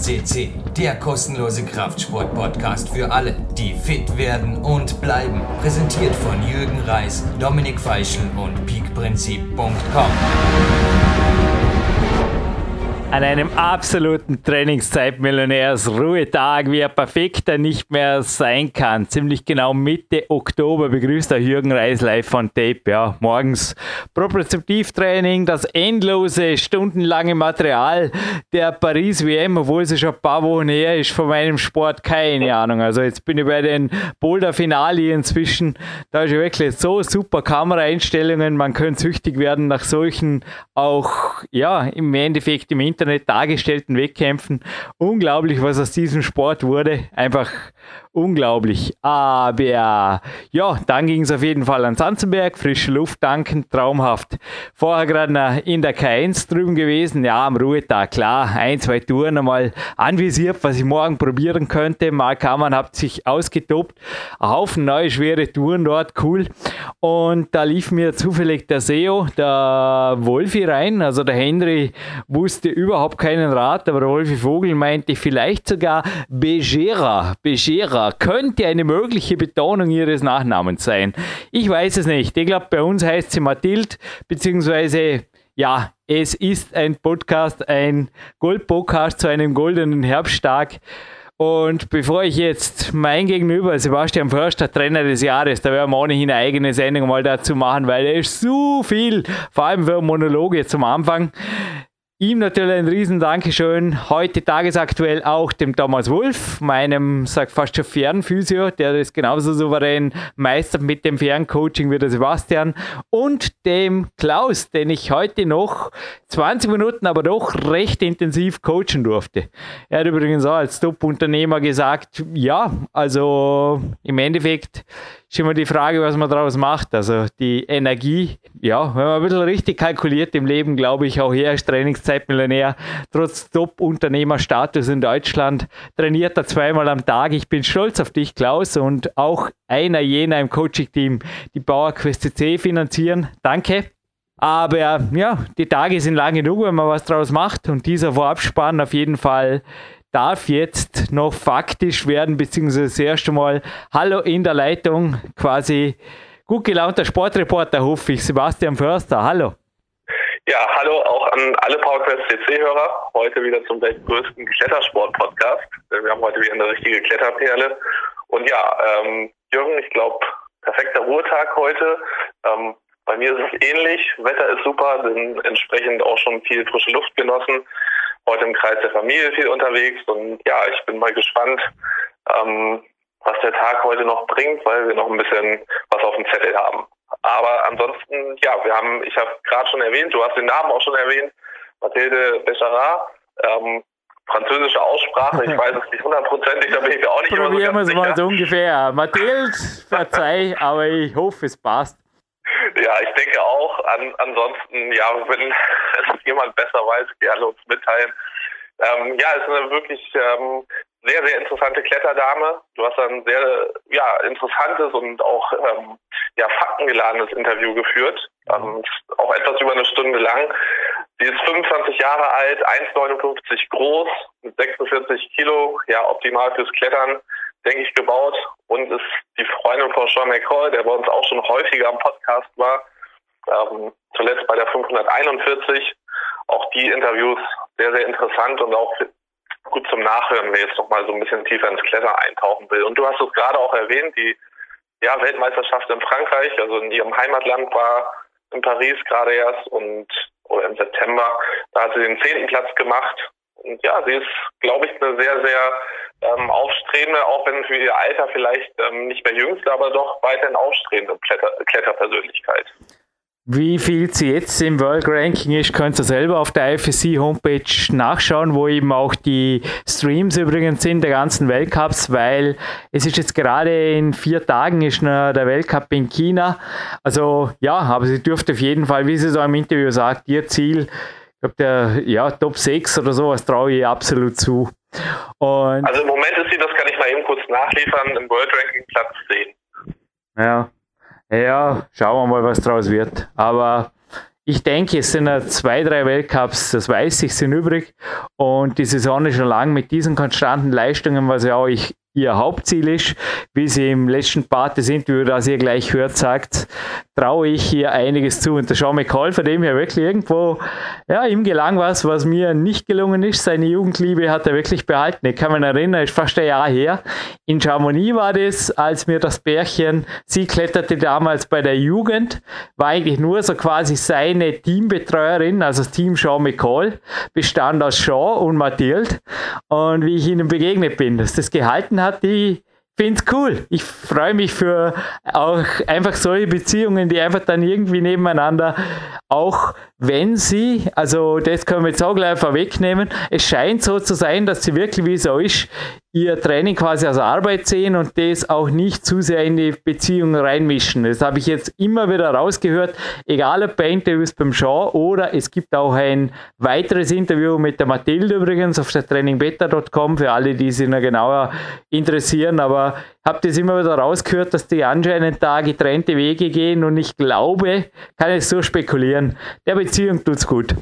CC, der kostenlose Kraftsport-Podcast für alle, die fit werden und bleiben. Präsentiert von Jürgen Reis, Dominik Feischl und peakprinzip.com. An einem absoluten Trainingszeit-Millionärs-Ruhetag, wie er perfekter nicht mehr sein kann. Ziemlich genau Mitte Oktober begrüßt der Jürgen Reis live von Tape. Ja, morgens Propriozeptivtraining, das endlose, stundenlange Material der Paris-WM, obwohl sie schon ein paar Wochen her ist von meinem Sport, keine Ahnung. Also jetzt bin ich bei den Boulder-Finale inzwischen. Da ist ja wirklich so super Kameraeinstellungen. Man könnte süchtig werden nach solchen auch, ja, im Endeffekt im Internet dargestellten Wettkämpfen. Unglaublich, was aus diesem Sport wurde. Einfach unglaublich. Aber ja, dann ging es auf jeden Fall an Sanzenberg, frische Luft tanken, traumhaft. Vorher gerade in der K1 drüben gewesen, ja, am Ruhetag, klar, 1-2 Touren einmal anvisiert, was ich morgen probieren könnte. Mark Hamann hat sich ausgetobt, ein Haufen neue, schwere Touren dort, cool. Und da lief mir zufällig der SEO, der Wolfi rein, also der Henry wusste überhaupt keinen Rat, aber der Wolfi Vogel meinte vielleicht sogar Begera könnte eine mögliche Betonung ihres Nachnamens sein. Ich weiß es nicht. Ich glaube, bei uns heißt sie Mathilde, beziehungsweise, ja, es ist ein Podcast, ein Gold-Podcast zu einem goldenen Herbsttag. Und bevor ich jetzt mein Gegenüber, Sebastian Förster, Trainer des Jahres, da werden wir ohnehin eine eigene Sendung mal dazu machen, weil er ist so viel, vor allem für Monologe zum Anfang. Ihm natürlich ein riesen Dankeschön. Heute tagesaktuell auch dem Thomas Wolf, meinem, sag fast schon Fernphysio, der das genauso souverän meistert mit dem Ferncoaching wie der Sebastian. Und dem Klaus, den ich heute noch 20 Minuten, aber doch recht intensiv coachen durfte. Er hat übrigens auch als Top-Unternehmer gesagt, ja, also im Endeffekt ist immer die Frage, was man daraus macht. Also die Energie, ja, wenn man ein bisschen richtig kalkuliert im Leben, glaube ich, auch er ist Trainingszeitmillionär, trotz Top-Unternehmerstatus in Deutschland, trainiert er 2-mal am Tag. Ich bin stolz auf dich, Klaus, und auch einer jener im Coaching-Team, die PowerQuest CC finanzieren. Danke. Aber ja, die Tage sind lang genug, wenn man was draus macht, und dieser Vorabspann auf jeden Fall darf jetzt noch faktisch werden, beziehungsweise das erste Mal hallo in der Leitung, quasi gut gelaunter Sportreporter, hoffe ich, Sebastian Förster, hallo. Ja, hallo auch an alle PowerQuest CC-Hörer, heute wieder zum weltgrößten Klettersport-Podcast. Wir haben heute wieder eine richtige Kletterperle. Und ja, Jürgen, ich glaube, perfekter Ruhetag heute. Bei mir ist es ähnlich, Wetter ist super, bin entsprechend auch schon viel frische Luft genossen. Heute im Kreis der Familie viel unterwegs, und ja, ich bin mal gespannt, was der Tag heute noch bringt, weil wir noch ein bisschen was auf dem Zettel haben. Aber ansonsten, ja, ich habe gerade schon erwähnt, du hast den Namen auch schon erwähnt, Mathilde Begera, französische Aussprache, ich weiß es nicht hundertprozentig, da bin ich auch nicht immer so ganz sicher. Probieren wir es mal so ungefähr. Mathilde, verzeih, aber ich hoffe, es passt. Ja, ich denke auch. Ansonsten, ja, wenn es jemand besser weiß, gerne uns mitteilen. Ja, es ist eine wirklich sehr, sehr interessante Kletterdame. Du hast ein sehr interessantes und auch faktengeladenes Interview geführt. Auch etwas über eine Stunde lang. Sie ist 25 Jahre alt, 1,59 groß, mit 46 Kilo, ja, optimal fürs Klettern, denke ich, gebaut, und ist die Freundin von Sean McCall, der bei uns auch schon häufiger am Podcast war, zuletzt bei der 541. Auch die Interviews sehr, sehr interessant und auch gut zum Nachhören, wer jetzt noch mal so ein bisschen tiefer ins Klettern eintauchen will. Und du hast es gerade auch erwähnt, die Weltmeisterschaft in Frankreich, also in ihrem Heimatland, war in Paris gerade erst, oder im September, da hat sie den 10. Platz gemacht. Und ja, sie ist, glaube ich, eine sehr, sehr aufstrebende, auch wenn für ihr Alter vielleicht nicht mehr jüngste, aber doch weiterhin aufstrebende Kletterpersönlichkeit. Wie viel sie jetzt im World Ranking ist, könnt ihr selber auf der IFSC Homepage nachschauen, wo eben auch die Streams übrigens sind, der ganzen Weltcups, weil es ist jetzt gerade in 4 Tagen ist noch der Weltcup in China. Also ja, aber sie dürfte auf jeden Fall, wie sie so im Interview sagt, ihr Ziel, ich glaube, Top 6 oder sowas traue ich absolut zu. Und also im Moment ist sie, das kann ich mal eben kurz nachliefern, im World Ranking Platz 10. Ja, schauen wir mal, was draus wird. Aber ich denke, es sind 2, 3 Weltcups, das weiß ich, sind übrig. Und die Saison ist schon lang mit diesen konstanten Leistungen, was ja auch ihr Hauptziel ist, wie sie im letzten Part des Interviews, das ihr gleich hört, sagt, traue ich hier einiges zu. Und der Sean McCall, von dem her wirklich irgendwo, ja, ihm gelang was mir nicht gelungen ist. Seine Jugendliebe hat er wirklich behalten. Ich kann mich erinnern, ist fast ein Jahr her. In Chamonix war das, als mir das Pärchen, sie kletterte damals bei der Jugend, war eigentlich nur so quasi seine Teambetreuerin, also das Team Sean McCall, bestand aus Sean und Mathilde. Und wie ich ihnen begegnet bin, dass das gehalten hat, ich finde es cool. Ich freue mich für auch einfach solche Beziehungen, die einfach dann irgendwie nebeneinander, auch wenn sie, also das können wir jetzt auch gleich vorwegnehmen, es scheint so zu sein, dass sie wirklich, wie es so ist, ihr Training quasi als Arbeit sehen und das auch nicht zu sehr in die Beziehung reinmischen. Das habe ich jetzt immer wieder rausgehört, egal ob bei Interviews beim Sean oder es gibt auch ein weiteres Interview mit der Mathilde übrigens auf der trainingbeta.com für alle, die sich noch genauer interessieren, aber ich habe das immer wieder rausgehört, dass die anscheinend da getrennte Wege gehen und ich glaube, kann ich so spekulieren, der Beziehung tut's gut.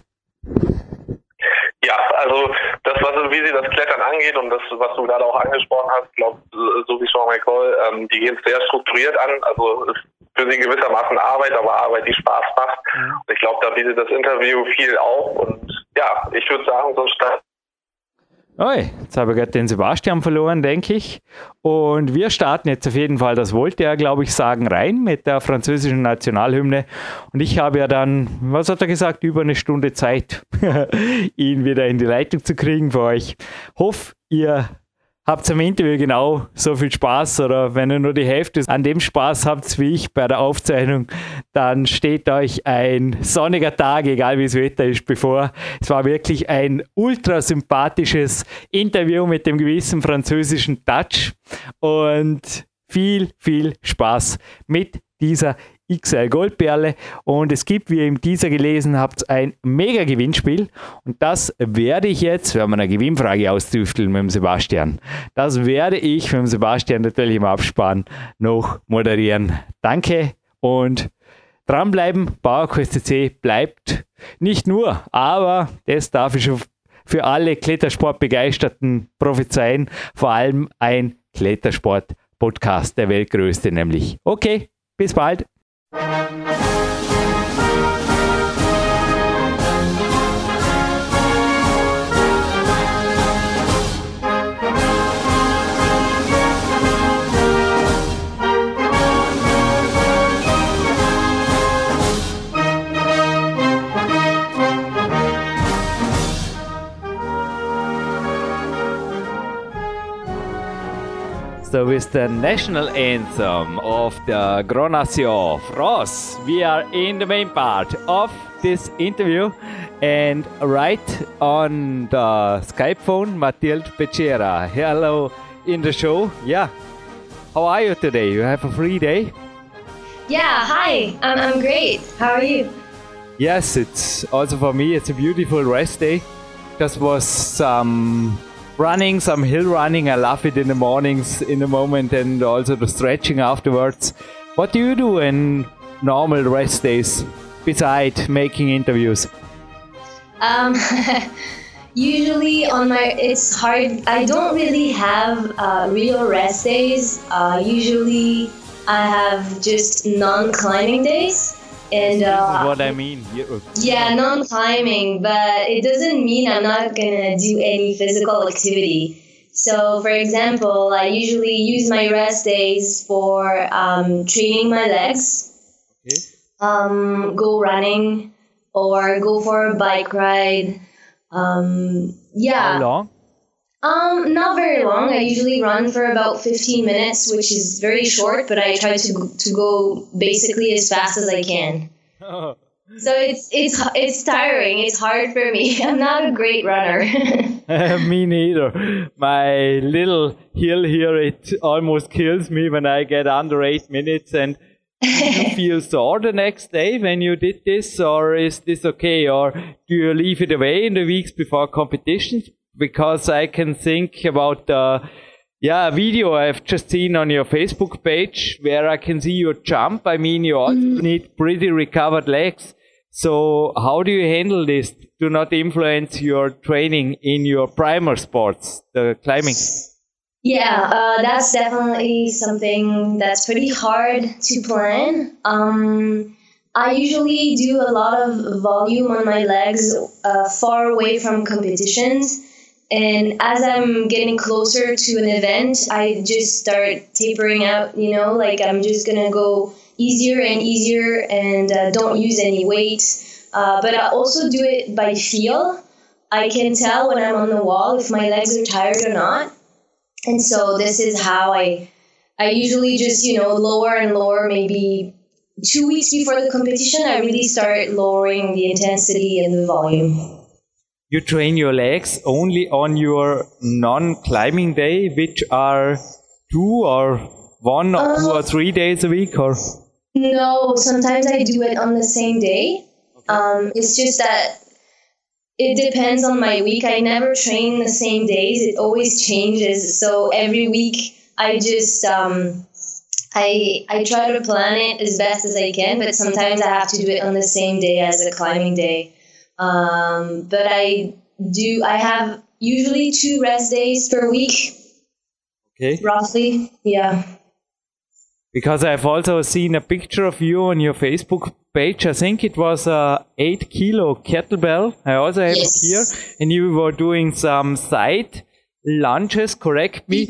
Ja, also das, wie sie das Klettern angeht und das, was du gerade auch angesprochen hast, glaube so wie Sean McCall, die gehen es sehr strukturiert an. Also ist für sie gewissermaßen Arbeit, aber Arbeit, die Spaß macht. Und ich glaube, da bietet das Interview viel auf. Und ja, ich würde sagen, so ein Start. Oi, jetzt habe ich gerade den Sebastian verloren, denke ich. Und wir starten jetzt auf jeden Fall, das wollte er, glaube ich, sagen, rein mit der französischen Nationalhymne. Und ich habe ja dann, was hat er gesagt, über eine Stunde Zeit, ihn wieder in die Leitung zu kriegen für euch. Hoffe, ihr habt am Interview genau so viel Spaß oder wenn ihr nur die Hälfte an dem Spaß habt wie ich bei der Aufzeichnung, dann steht euch ein sonniger Tag, egal wie das Wetter ist, bevor. Es war wirklich ein ultra sympathisches Interview mit dem gewissen französischen Touch und viel, viel Spaß mit dieser XL Goldperle und es gibt, wie ihr im Teaser gelesen habt, ein mega Gewinnspiel und das werde ich jetzt, wenn wir eine Gewinnfrage austüfteln mit dem Sebastian, das werde ich mit dem Sebastian natürlich im Abspann noch moderieren. Danke und dranbleiben, PowerQuest CC bleibt nicht nur, aber das darf ich schon für alle Klettersport-Begeisterten prophezeien, vor allem ein Klettersport-Podcast, der weltgrößte nämlich. Okay, bis bald. So with the national anthem of the Grand Nation France, we are in the main part of this interview and right on the Skype phone, Mathilde Becerra. Hello in the show. Yeah. How are you today? You have a free day? Yeah, hi. I'm great. How are you? Yes, it's also for me, it's a beautiful rest day. Just was some running, some hill running. I love it in the mornings, in the moment, and also the stretching afterwards. What do you do in normal rest days besides making interviews? Usually it's hard. I don't really have real rest days. Usually I have just non-climbing days. And this is what I mean. Yeah, non-climbing, but it doesn't mean I'm not gonna do any physical activity. So, for example, I usually use my rest days for training my legs, go running, or go for a bike ride. Yeah. How long? Not very long. I usually run for about 15 minutes, which is very short, but I try to go basically as fast as I can. So it's tiring. It's hard for me. I'm not a great runner. Me neither. My little hill here, it almost kills me when I get under 8 minutes. And do you feel sore the next day when you did this, or is this okay? Or do you leave it away in the weeks before competitions? Because I can think about the video I've just seen on your Facebook page where I can see your jump. I mean, you also need pretty recovered legs. So how do you handle this to not influence your training in your primer sports, the climbing? Yeah, that's definitely something that's pretty hard to plan. I usually do a lot of volume on my legs far away from competitions. And as I'm getting closer to an event, I just start tapering out, like I'm just going to go easier and easier and don't use any weight. But I also do it by feel. I can tell when I'm on the wall if my legs are tired or not. And so this is how I usually just, lower and lower. Maybe 2 weeks before the competition, I really start lowering the intensity and the volume. You train your legs only on your non-climbing day, which are 2 or 1 or 2 or 3 days a week, or? No, sometimes I do it on the same day. It's just that it depends on my week. I never train the same days. It always changes. So every week I just I try to plan it as best as I can, but sometimes I have to do it on the same day as a climbing day. But I have usually 2 rest days per week. Okay. Roughly, yeah. Because I've also seen a picture of you on your Facebook page. I think it was a 8 kilo kettlebell. I also have it here. And you were doing some side lunges, correct me.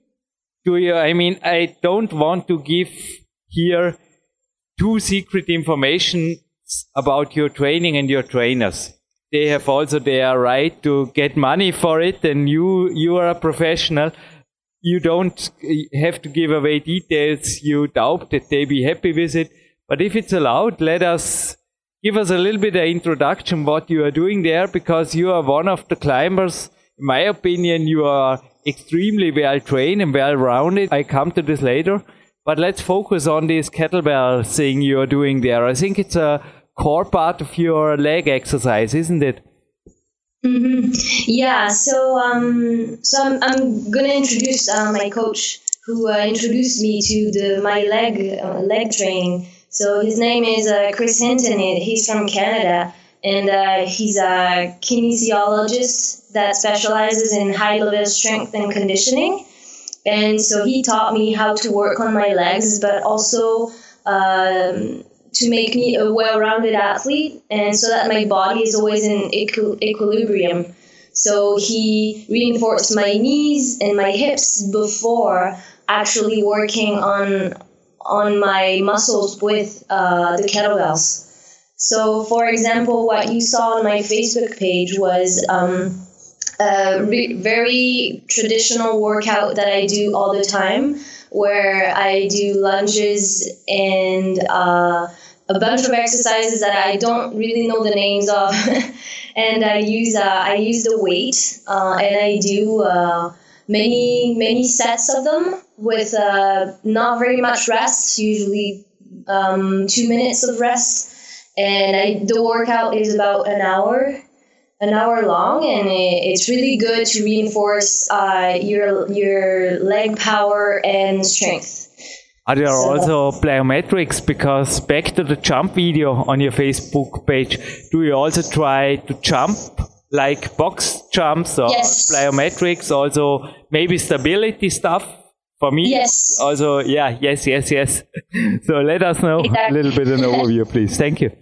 Mm-hmm. I don't want to give here too secret information about your training and your trainers. They have also their right to get money for it, and you are a professional. You don't have to give away details. You doubt that they be happy with it. But if it's allowed, give us a little bit of introduction what you are doing there, because you are one of the climbers. In my opinion, you are extremely well trained and well rounded. I come to this later. But let's focus on this kettlebell thing you are doing there. I think it's a core part of your leg exercise, isn't it? Mm-hmm. Yeah, so I'm gonna introduce my coach who introduced me to my leg training. So his name is Chris Hinton. He's from Canada, and he's a kinesiologist that specializes in high level strength and conditioning. And so he taught me how to work on my legs, but also to make me a well-rounded athlete, and so that my body is always in equilibrium. So he reinforced my knees and my hips before actually working on my muscles with the kettlebells. So, for example, what you saw on my Facebook page was a very traditional workout that I do all the time, where I do lunges and a bunch of exercises that I don't really know the names of, and I use the weight, and I do many sets of them with not very much rest, usually 2 minutes of rest, and the workout is about an hour long, and it's really good to reinforce your leg power and strength. Are there also plyometrics? Because back to the jump video on your Facebook page, do you also try to jump like box jumps or plyometrics? Also maybe stability stuff? For me, yes. Also, yeah, yes. So let us know a little bit of an overview, please. Thank you.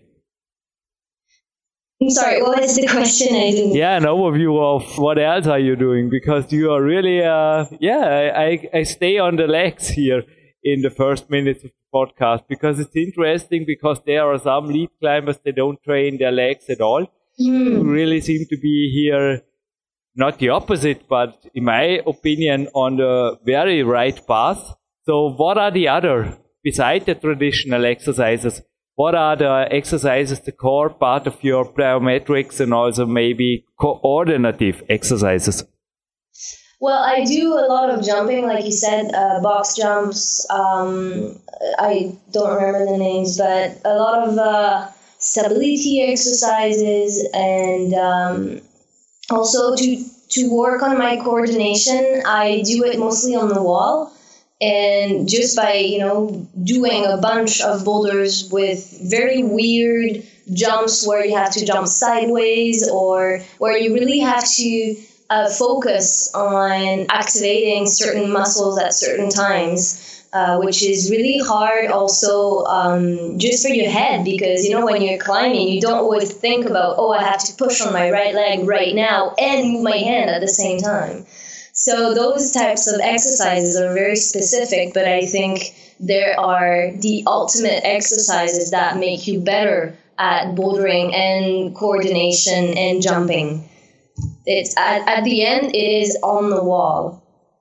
I'm sorry, what was the question? Yeah, an overview of what else are you doing? Because you are really, I stay on the legs here in the first minutes of the podcast, because it's interesting, because there are some lead climbers, they don't train their legs at all. You really seem to be here, not the opposite, but in my opinion, on the very right path. So what are the other, beside the traditional exercises, what are the exercises, the core part of your plyometrics, and also maybe coordinative exercises? Well, I do a lot of jumping, like you said, box jumps. I don't remember the names, but a lot of stability exercises, and also to work on my coordination, I do it mostly on the wall. And just by, doing a bunch of boulders with very weird jumps where you have to jump sideways or where you really have to focus on activating certain muscles at certain times, which is really hard also just for your head, because, when you're climbing, you don't always think about, I have to push on my right leg right now and move my hand at the same time. So those types of exercises are very specific, but I think there are the ultimate exercises that make you better at bouldering and coordination and jumping. It's at the end, it is on the wall.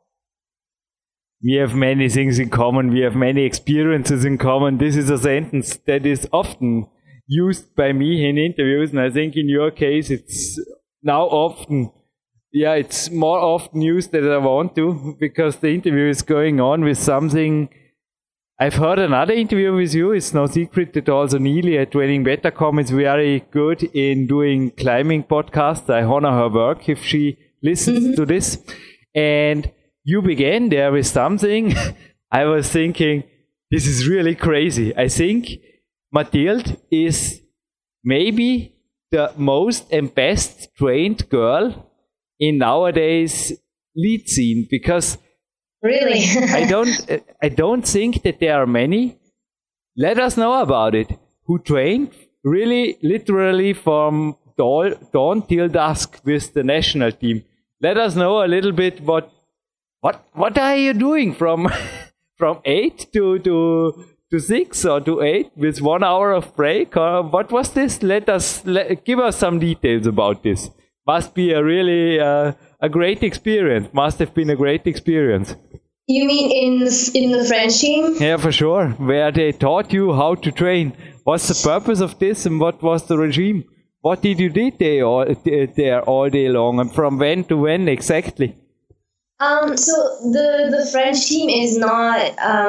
We have many things in common. We have many experiences in common. This is a sentence that is often used by me in interviews, and I think in your case, it's now often. Yeah, it's more often used than I want to, because the interview is going on with something. I've heard another interview with you. It's no secret that also Neely at TrainingBetter.com is very good in doing climbing podcasts. I honor her work if she listens to this. And you began there with something. I was thinking, this is really crazy. I think Mathilde is maybe the most and best trained girl in nowadays lead scene, because really I don't think that there are many. Let us know about it. Who trained really literally from dawn till dusk with the national team. Let us know a little bit what are you doing from 8 to 6 or to 8 with 1 hour of break, or what was this? Give us some details about this. Must be a really a great experience. Must have been a great experience. You mean in the French team? Yeah, for sure. Where they taught you how to train. What's the purpose of this, and what was the regime? What did you do there all day long, and from when to when exactly? So the French team is not.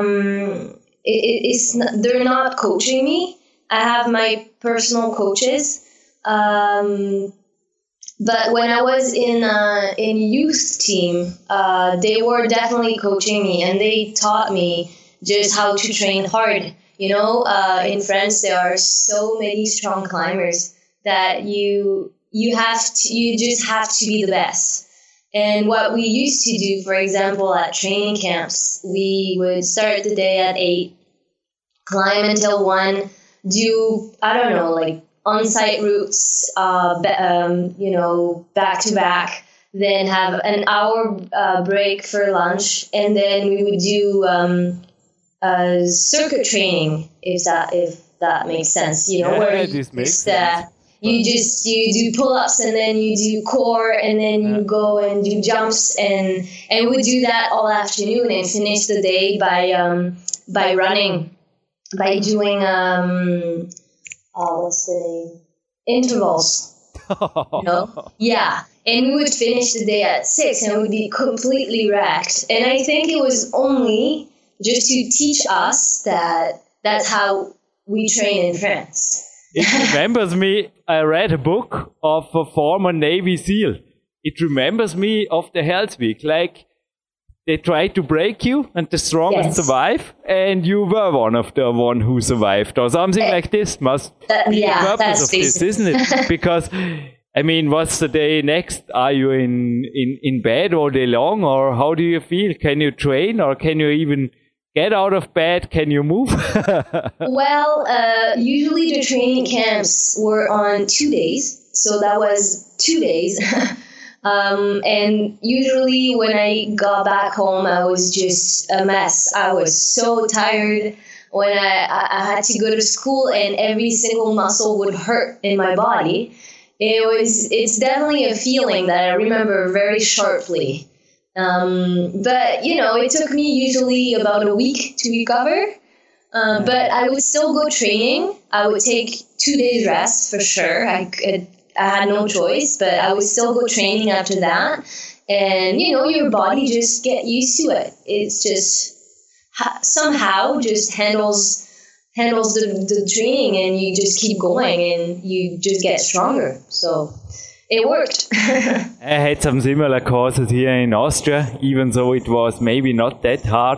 They're not coaching me. I have my personal coaches. But when I was in youth team, they were definitely coaching me, and they taught me just how to train hard. In France there are so many strong climbers that you just have to be the best. And what we used to do, for example, at training camps, we would start the day at 8, climb until 1, do on-site routes, back to back, then have an hour break for lunch, and then we would do circuit training, if that makes sense. Where this makes sense. You do pull-ups, and then you do core, and then you go and do jumps, and we do that all afternoon and finish the day by running, by doing what's the name? Intervals. Yeah. And we would finish the day at 6, and it would be completely wrecked. And I think it was only just to teach us that that's how we train in France. It remembers me, I read a book of a former Navy SEAL. It remembers me of the Hell's Week, like they try to break you and the strongest survive, and you were one of the one who survived, or something like this. Must be the purpose of this, isn't it? Because, I mean, what's the day next? Are you in bed all day long, or how do you feel? Can you train, or can you even get out of bed? Can you move? Well, usually the training camps were on 2 days, so that was 2 days. And usually when I got back home, I was just a mess. I was so tired when I had to go to school, and every single muscle would hurt in my body. It's definitely a feeling that I remember very sharply. But, it took me usually about a week to recover. But I would still go training. I would take 2 days rest for sure. I had no choice, but I would still go training after that. And, your body just get used to it. It's just somehow just handles the training, and you just keep going, and you just get stronger. So it worked. I had some similar courses here in Austria, even though it was maybe not that hard.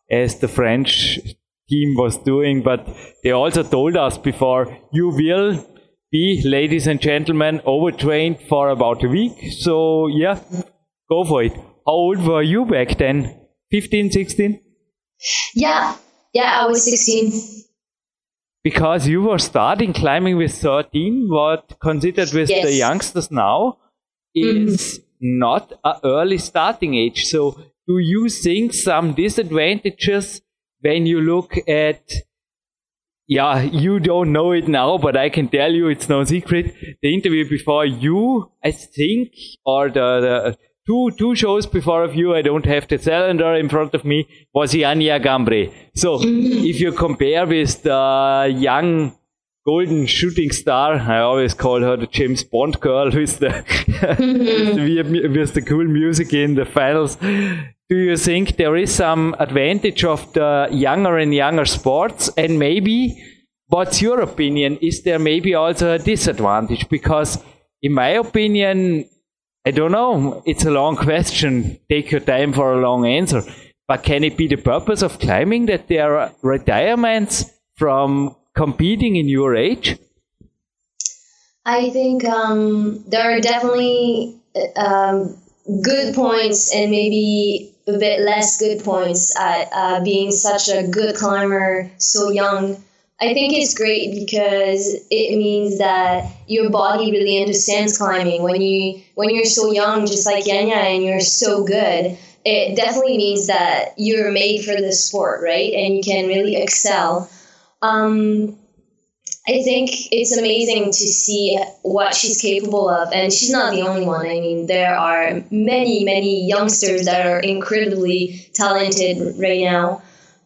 as the French team was doing, but they also told us before, you will be, ladies and gentlemen, overtrained for about a week. So yeah, go for it. How old were you back then? 15, 16? Yeah, I was 16. Because you were starting climbing with 13, what considered with the youngsters now is not an early starting age. So do you think some disadvantages when you look at, you don't know it now, but I can tell you it's no secret, the interview before you, I think, or the two shows before of you, I don't have the calendar in front of me, was Janja Gambre. So if you compare with the young golden shooting star, I always call her the James Bond girl with the with the cool music in the finals. Do you think there is some advantage of the younger and younger sports? And maybe, what's your opinion? Is there maybe also a disadvantage? Because in my opinion, I don't know, it's a long question. Take your time for a long answer. But can it be the purpose of climbing that there are retirements from competing in your age? I think there are definitely good points and maybe a bit less good points at being such a good climber so young. I think it's great because it means that your body really understands climbing. When you're so young, just like Janja, and you're so good, it definitely means that you're made for this sport, right? And you can really excel. I think it's amazing to see what she's capable of, and she's not the only one. I mean, there are many, many youngsters that are incredibly talented right now.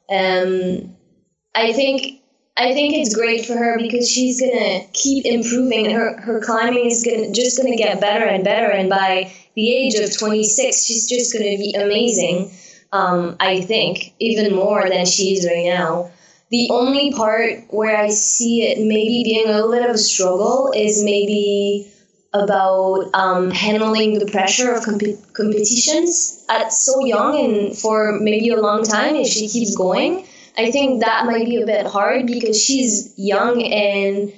I think it's great for her because she's gonna keep improving. Her climbing is just gonna get better and better, and by the age of 26, she's just gonna be amazing. I think even more than she is right now. The only part where I see it maybe being a little bit of a struggle is maybe about handling the pressure of competitions at so young and for maybe a long time if she keeps going. I think that might be a bit hard because she's young and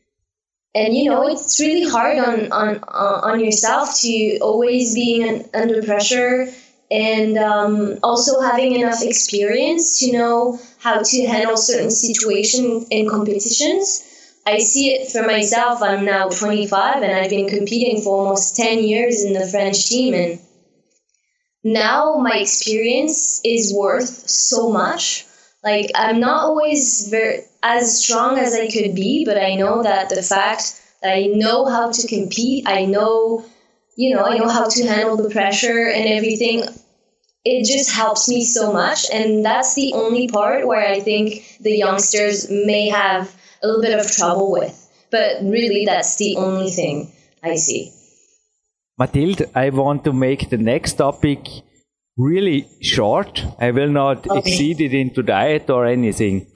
it's really hard on yourself to always being under pressure and also having enough experience to know how to handle certain situations in competitions. I see it for myself. I'm now 25 and I've been competing for almost 10 years in the French team, and now my experience is worth so much. Like, I'm not always as strong as I could be, but I know that the fact that I know how to compete, I know how to handle the pressure and everything, it just helps me so much. And that's the only part where I think the youngsters may have a little bit of trouble with. But really, that's the only thing I see. Mathilde, I want to make the next topic really short. I will not exceed it into diet or anything.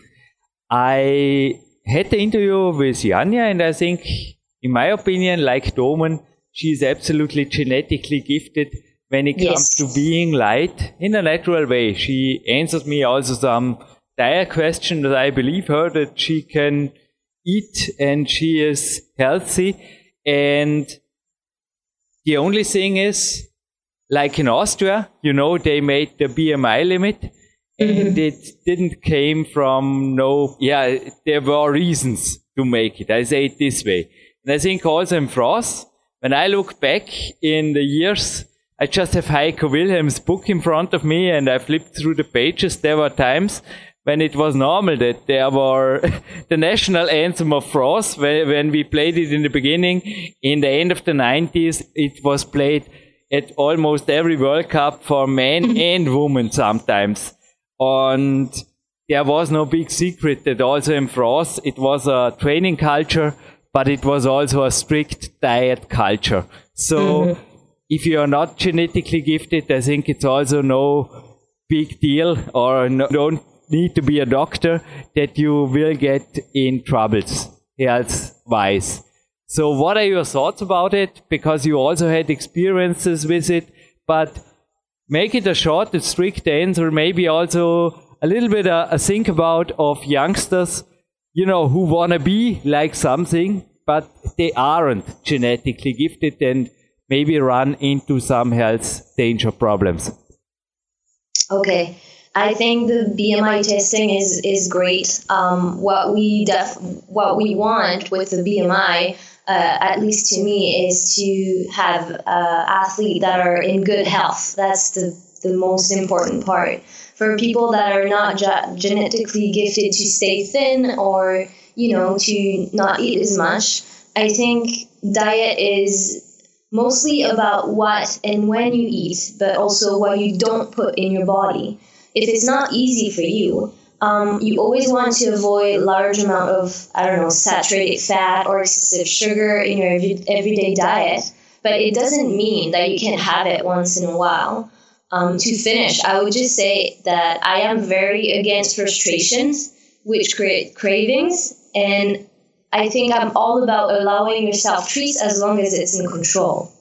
I had the interview with Janja, and I think, in my opinion, like Domen, she is absolutely genetically gifted when it comes to being light in a natural way. She answers me also some diet questions that I believe her that she can eat and she is healthy. And the only thing is, like in Austria, they made the BMI limit, and it didn't came from there were reasons to make it. I say it this way. And I think also in France, when I look back in the years, I just have Heiko Wilhelm's book in front of me and I flipped through the pages. There were times when it was normal that there were the national anthem of France, when we played it in the beginning. In the end of the 90s, it was played at almost every World Cup for men and women sometimes. And there was no big secret that also in France it was a training culture, but it was also a strict diet culture. So if you are not genetically gifted, I think it's also no big deal, or don't need to be a doctor, that you will get in troubles health-wise. So what are your thoughts about it? Because you also had experiences with it, but make it a short and strict answer, maybe also a little bit think about of youngsters, who want to be like something, but they aren't genetically gifted and maybe run into some health danger problems. Okay. I think the BMI testing is great. What we want with the BMI, at least to me, is to have athletes that are in good health. That's the most important part. For people that are not genetically gifted to stay thin or, to not eat as much, I think diet is mostly about what and when you eat, but also what you don't put in your body. If it's not easy for you, you always want to avoid large amount of, saturated fat or excessive sugar in your everyday diet. But it doesn't mean that you can't have it once in a while. To finish, I would just say that I am very against frustrations, which create cravings. And I think I'm all about allowing yourself treats as long as it's in control.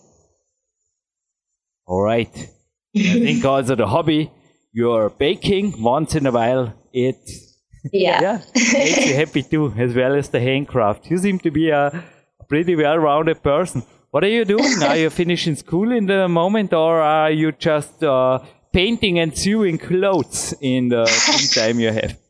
All right. I think also the hobby, you're baking once in a while, it makes you happy too, as well as the handcraft. You seem to be a pretty well-rounded person. What are you doing? Are you finishing school in the moment, or are you just painting and sewing clothes in the free time you have?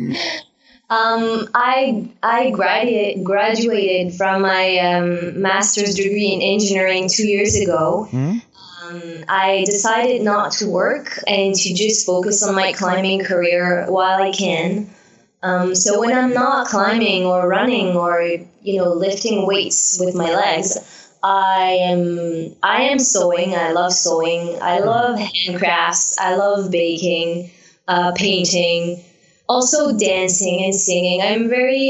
I graduated from my master's degree in engineering 2 years ago. I decided not to work and to just focus on my climbing career while I can. So when I'm not climbing or running or lifting weights with my legs, I am sewing. I love sewing. I love handcrafts. I love baking, painting, also dancing and singing. I'm very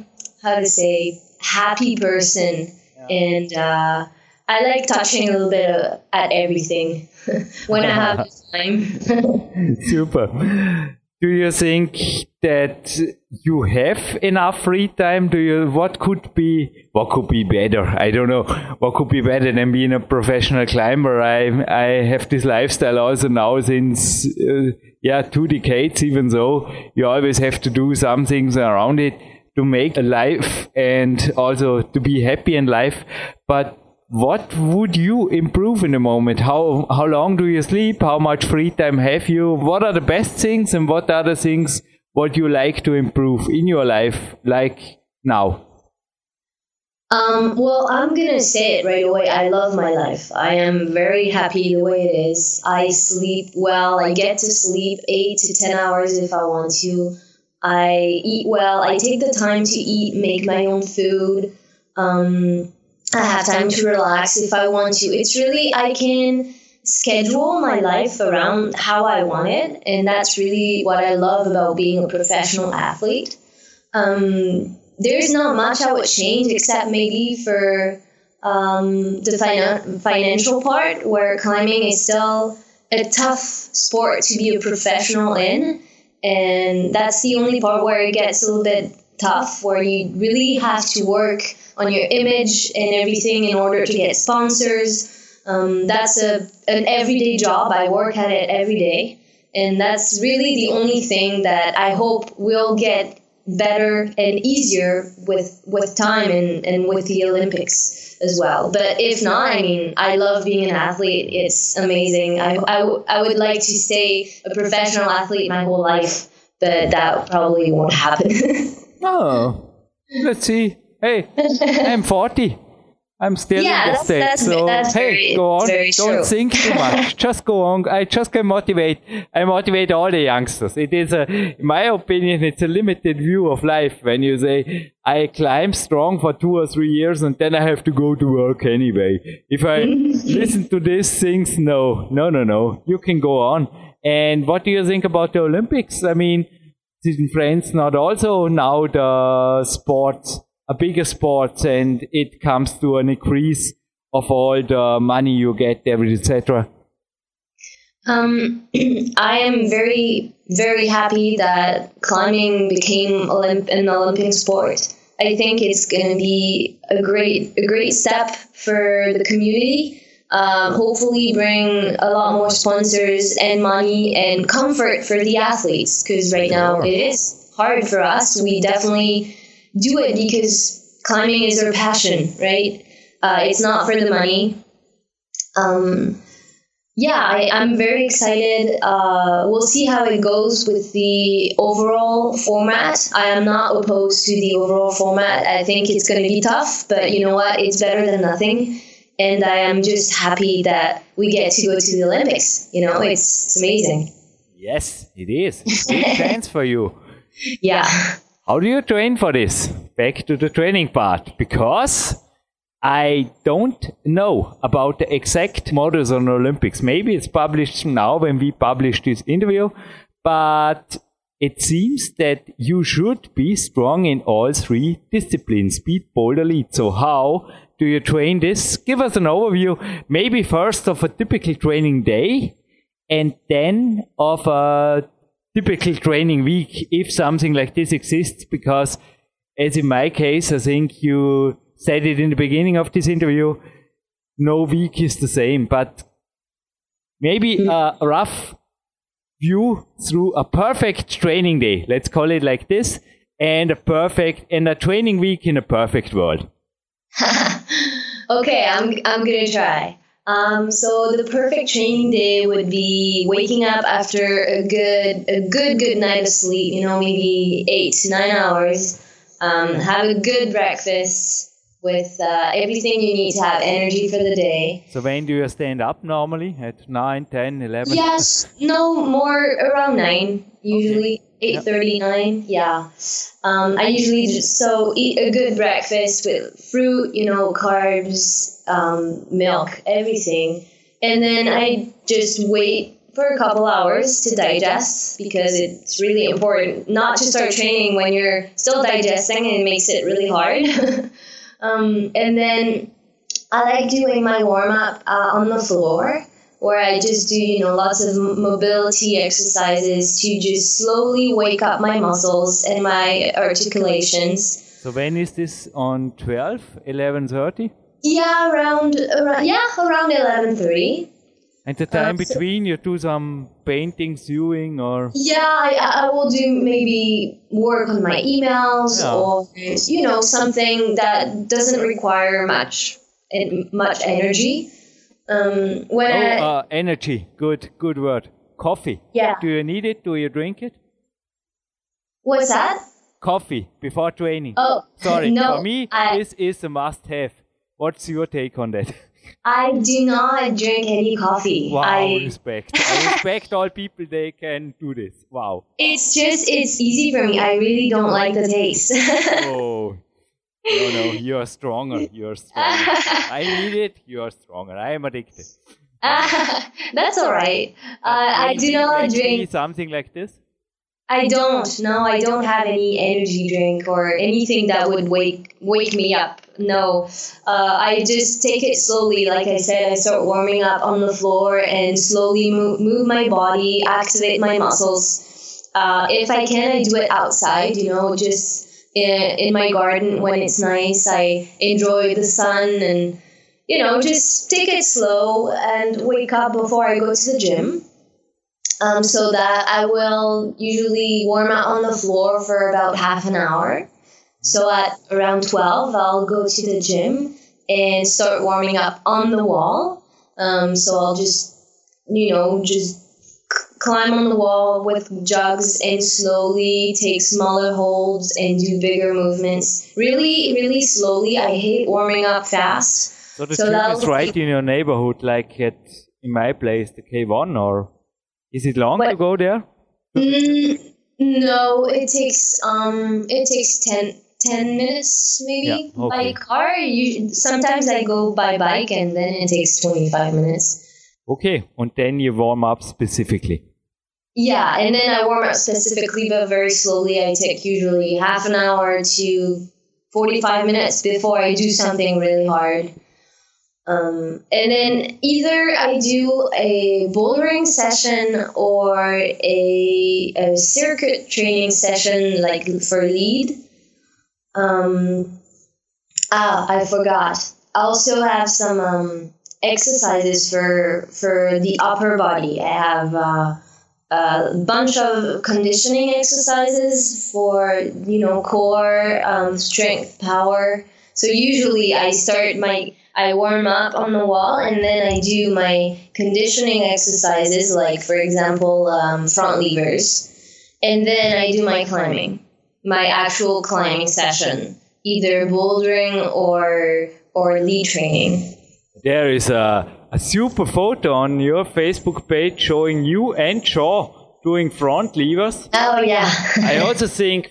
happy person, and I like touching a little bit at everything when I have the time. Super. Do you think that you have enough free time? What could be better? I don't know. What could be better than being a professional climber? I have this lifestyle also now since 2 decades, even though you always have to do some things around it to make a life and also to be happy in life. But what would you improve in the moment? How long do you sleep? How much free time have you? What are the best things and what are the things what you like to improve in your life, like now? Well, I'm going to say it right away. I love my life. I am very happy the way it is. I sleep well. I get to sleep 8 to 10 hours if I want to. I eat well. I take the time to eat, make my own food. I have time to relax if I want to. It's really, I can schedule my life around how I want it. And that's really what I love about being a professional athlete. There's not much I would change except maybe for the financial part, where climbing is still a tough sport to be a professional in. And that's the only part where it gets a little bit tough, where you really have to work on your image and everything in order to get sponsors. That's an everyday job. I work at it every day. And that's really the only thing that I hope will get better and easier with time and with the Olympics as well. But if not, I love being an athlete. It's amazing. I would like to stay a professional athlete my whole life, but that probably won't happen. Oh, let's see. Hey, I'm 40. I'm still in the state. So, go on. Don't think too much. Just go on. I just can motivate. I motivate all the youngsters. It is in my opinion, it's a limited view of life when you say, I climb strong for 2 or 3 years and then I have to go to work anyway. If I listen to these things, no. You can go on. And what do you think about the Olympics? Isn't France not also now the sports, a bigger sport, and it comes to an increase of all the money you get there, etc.? I am very, very happy that climbing became an Olympic sport. I think it's going to be a great step for the community. hopefully bring a lot more sponsors and money and comfort for the athletes, because right now it is hard for us. We definitely do it because climbing is our passion, right? It's not for the money. I'm very excited. We'll see how it goes with the overall format. I am not opposed to the overall format. I think it's going to be tough, but you know what? It's better than nothing. And I am just happy that we get to go to the Olympics. You know, it's amazing. Yes, it is. Big chance for you. Yeah. How do you train for this? Back to the training part, because I don't know about the exact models on the Olympics. Maybe it's published now when we publish this interview, but it seems that you should be strong in all three disciplines, speed, boulder, lead. So how do you train this? Give us an overview, maybe first of a typical training day and then of a typical training week, if something like this exists, because as in my case, I think you said it in the beginning of this interview, no week is the same, but maybe a rough view through a perfect training day, let's call it like this, and a training week in a perfect world. Okay, I'm gonna try. So the perfect training day would be waking up after a good night of sleep, you know, maybe 8 to 9 hours. Have a good breakfast with everything you need to have energy for the day. So when do you stand up normally? At 9, 10, 11? Yes, no, more around 9, usually. Okay. 8:30, 9, yeah. I usually just eat a good breakfast with fruit, you know, carbs, milk, everything. And then I just wait for a couple hours to digest, because it's really important not to start training when you're still digesting, and it makes it really hard. And then I like doing my warm-up on the floor, where I just do, you know, lots of mobility exercises to just slowly wake up my muscles and my articulations. So when is this on 12, 11:30? Yeah, around 11:30. And the time between, you do some painting, sewing, or? Yeah, I will do maybe work on my emails, or, you know, something that doesn't require much energy. Energy. Good word. Coffee. Yeah. Do you need it? Do you drink it? What's that? Coffee before training. Oh, sorry. No, for me, this is a must-have. What's your take on that? I do not drink any coffee. Wow, respect. I respect all people, they can do this. Wow. It's easy for me. I really don't like the taste. Oh. No, you're stronger. I need it. You're stronger. I am addicted. That's all right. I do not drink something like this. I don't. No, I don't have any energy drink or anything that would wake me up. No, I just take it slowly. Like I said, I start warming up on the floor and slowly move my body, activate my muscles. If I can, I do it outside, you know, just in my garden when it's nice. I enjoy the sun and, you know, just take it slow and wake up before I go to the gym. So that I will usually warm up on the floor for about half an hour. So at around 12, I'll go to the gym and start warming up on the wall. So I'll just climb on the wall with jugs and slowly take smaller holds and do bigger movements. Really, really slowly. I hate warming up fast. So the gym is right in your neighborhood, like in my place, the K1, or is it long to go there? No, it takes 10 minutes maybe by car. Sometimes I go by bike and then it takes 25 minutes. Okay, and then you warm up specifically. Yeah, and then I warm up specifically, but very slowly. I take usually half an hour to 45 minutes before I do something really hard. And then either I do a bouldering session or a circuit training session, like for lead. I forgot. I also have some exercises for the upper body. I have a bunch of conditioning exercises for, core, strength, power. So usually I warm up on the wall, and then I do my conditioning exercises, like, for example, front levers. And then I do my actual climbing session, either bouldering or lead training. There is a super photo on your Facebook page showing you and Shaw doing front levers. Oh, yeah. I also think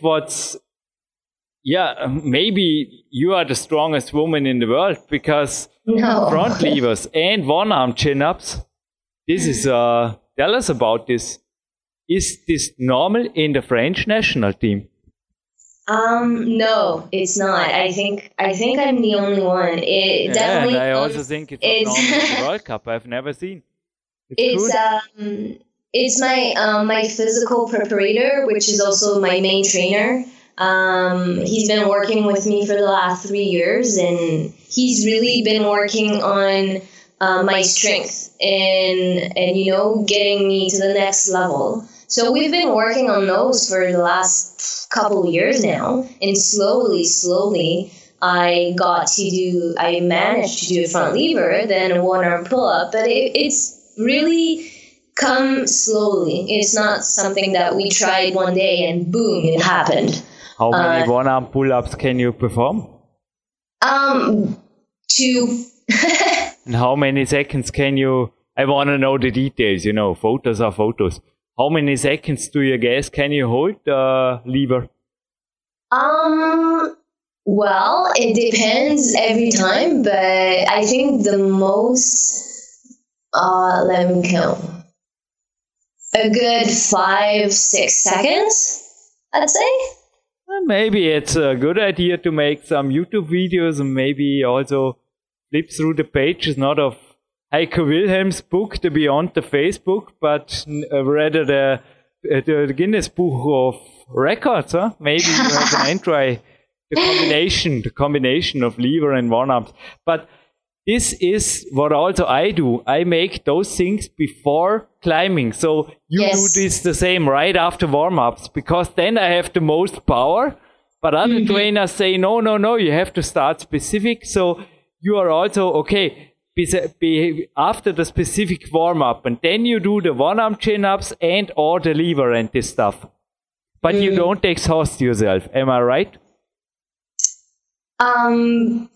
maybe you are the strongest woman in the world, because front levers and one-arm chin-ups, this is, tell us about this. Is this normal in the French national team? No, it's not. I think I'm the only one. Definitely. And I also think it's not normal in the World Cup. I've never seen. It's my physical preparator, which is also my main trainer. He's been working with me for the last 3 years, and he's really been working on my strength and getting me to the next level. So we've been working on those for the last couple of years now, and slowly I managed to do a front lever, then a one-arm pull-up, but it's really come slowly. It's not something that we tried one day and boom, it happened. How many one-arm pull-ups can you perform? 2. And how many seconds can you... I want to know the details, photos are photos. How many seconds do you guess can you hold the lever? Well, it depends every time, but I think the most, let me count, a good 5-6 seconds, I'd say. Maybe it's a good idea to make some YouTube videos and maybe also flip through the pages, not of Heiko Wilhelm's book, The Beyond the Facebook, but rather the Guinness Book of Records. Huh? Maybe you have an entry, the combination of lever and one-arms. But this is what also I do. I make those things before climbing. So you do this the same right after warm-ups, because then I have the most power. But other trainers say, no, you have to start specific. So you are also, okay, be after the specific warm-up, and then you do the one-arm chin-ups and or the lever and this stuff. But you don't exhaust yourself. Am I right? I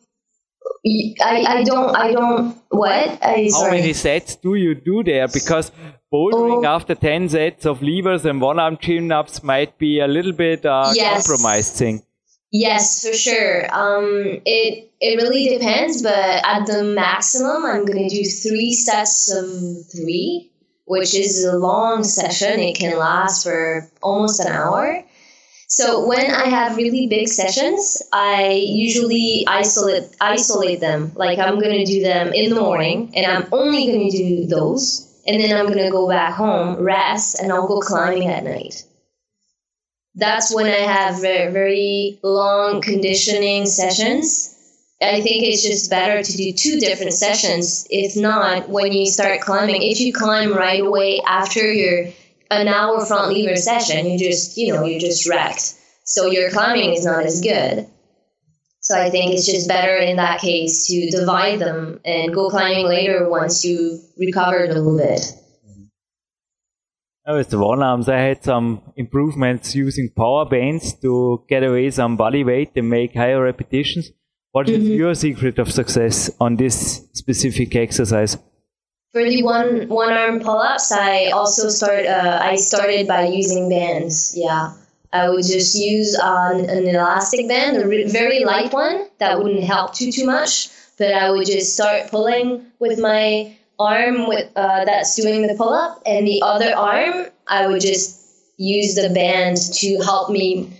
don't, what? How many sets do you do there? Because bouldering after 10 sets of levers and one-arm chin-ups might be a little bit compromised thing. Yes, for sure. It really depends, but at the maximum, I'm going to do 3 sets of 3, which is a long session. It can last for almost an hour. So when I have really big sessions, I usually isolate them. Like, I'm going to do them in the morning, and I'm only going to do those. And then I'm going to go back home, rest, and I'll go climbing at night. That's when I have very, very long conditioning sessions. I think it's just better to do 2 different sessions. If not, when you start climbing, if you climb right away after your an hour front lever session, you're just wrecked. So your climbing is not as good. So I think it's just better in that case to divide them and go climbing later once you've recovered a little bit. With the one-arms, I had some improvements using power bands to get away some body weight and make higher repetitions. What is your secret of success on this specific exercise? For the one-arm pull-ups, I also started by using bands. Yeah, I would just use an elastic band, a very light one that wouldn't help too much. But I would just start pulling with my arm that's doing the pull-up, and the other arm I would just use the band to help me,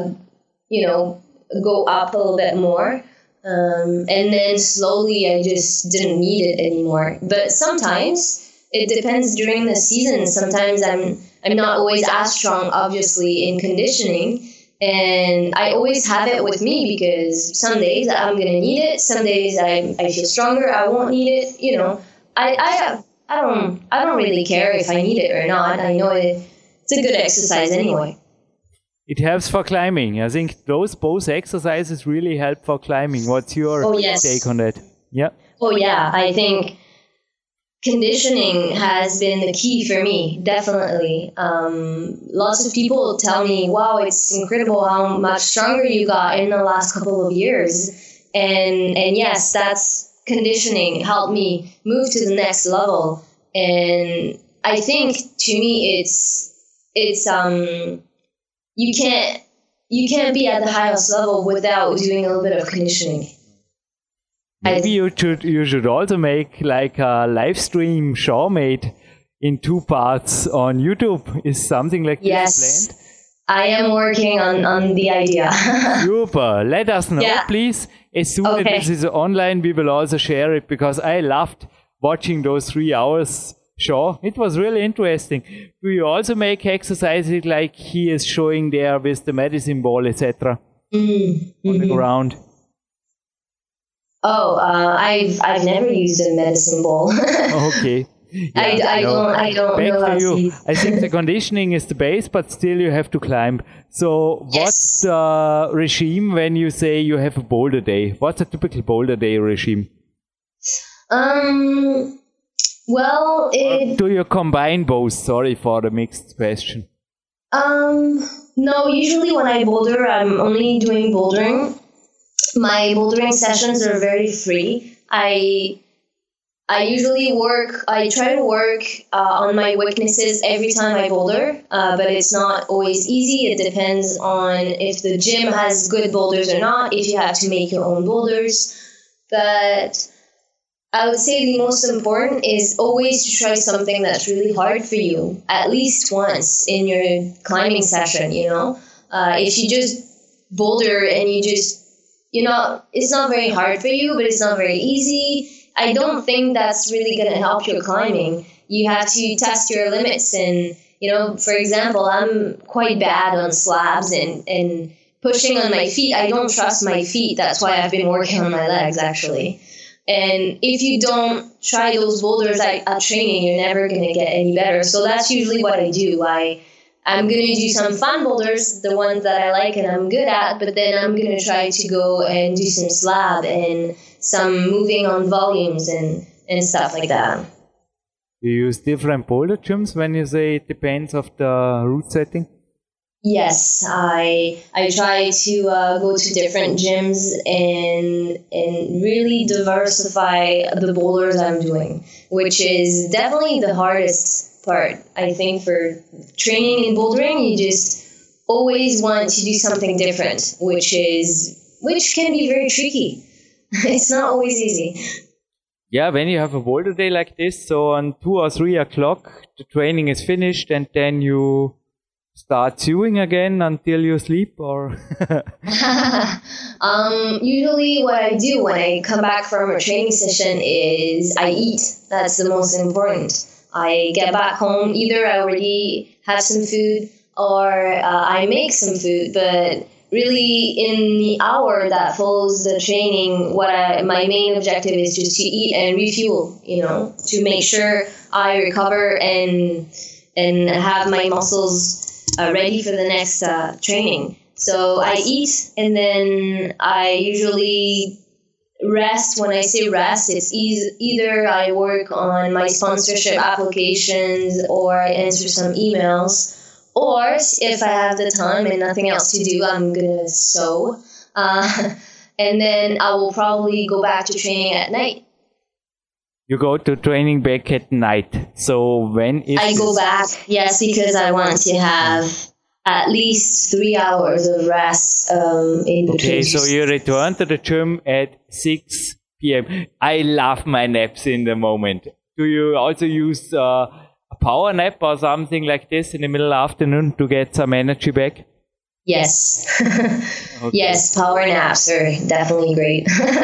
go up a little bit more. And then slowly I just didn't need it anymore. But sometimes it depends during the season. Sometimes I'm not always as strong, obviously, in conditioning. And I always have it with me because some days I'm going to need it. Some days I feel stronger. I won't need it. You know, I don't really care if I need it or not. I know it's a good exercise anyway. It helps for climbing. I think those both exercises really help for climbing. What's your take on that? Yeah. Oh, yeah. I think conditioning has been the key for me, definitely. Lots of people tell me, wow, it's incredible how much stronger you got in the last couple of years. And yes, that's conditioning helped me move to the next level. And I think to me, it's you can't be at the highest level without doing a little bit of conditioning. Maybe you should also make like a live stream show made in 2 parts on YouTube. Is something like this planned? I am working on the idea. Super. Let us know, please. As soon as this is online, we will also share it because I loved watching those 3 hours show. It was really interesting. Do you also make exercises like he is showing there with the medicine ball, etc. On the ground? Oh, I've never used a medicine ball. Okay. Yeah, I don't know how to. I think the conditioning is the base, but still you have to climb. So what's the regime when you say you have a boulder day? What's a typical boulder day regime? Well, do you combine both? Sorry for the mixed question. No, usually when I boulder, I'm only doing bouldering. My bouldering sessions are very free. I usually try to work on my weaknesses every time I boulder, but it's not always easy. It depends on if the gym has good boulders or not, if you have to make your own boulders. But I would say the most important is always to try something that's really hard for you, at least once in your climbing session, you know? If you just boulder and it's not very hard for you, but it's not very easy. I don't think that's really going to help your climbing. You have to test your limits. And, for example, I'm quite bad on slabs and pushing on my feet. I don't trust my feet. That's why I've been working on my legs, actually. And if you don't try those boulders at training, you're never going to get any better. So that's usually what I do. I'm going to do some fun boulders, the ones that I like and I'm good at, but then I'm going to try to go and do some slab and some moving on volumes and stuff like that. You use different boulder gyms when you say it depends of the route setting? Yes, I try to go to different gyms and really diversify the boulders I'm doing, which is definitely the hardest part. I think for training in bouldering, you just always want to do something different, which can be very tricky. It's not always easy. Yeah, when you have a boulder day like this, so on 2 or 3 o'clock, the training is finished and then you start chewing again until you sleep, or? Usually what I do when I come back from a training session is I eat. That's the most important. I get back home, either I already have some food or I make some food, but really in the hour that follows the training, my main objective is just to eat and refuel, to make sure I recover and have my muscles ready for the next training. So I eat and then I usually rest. When I say rest, it's either I work on my sponsorship applications or I answer some emails, or if I have the time and nothing else to do, I'm gonna sew, and then I will probably go back to training at night. You go to training back at night. So when is I go back? Yes, because I want to have at least 3 hours of rest in between. Okay, so you return to the gym at 6 p.m. I love my naps in the moment. Do you also use a power nap or something like this in the middle of the afternoon to get some energy back? Yes. Okay. Yes, power naps are definitely great.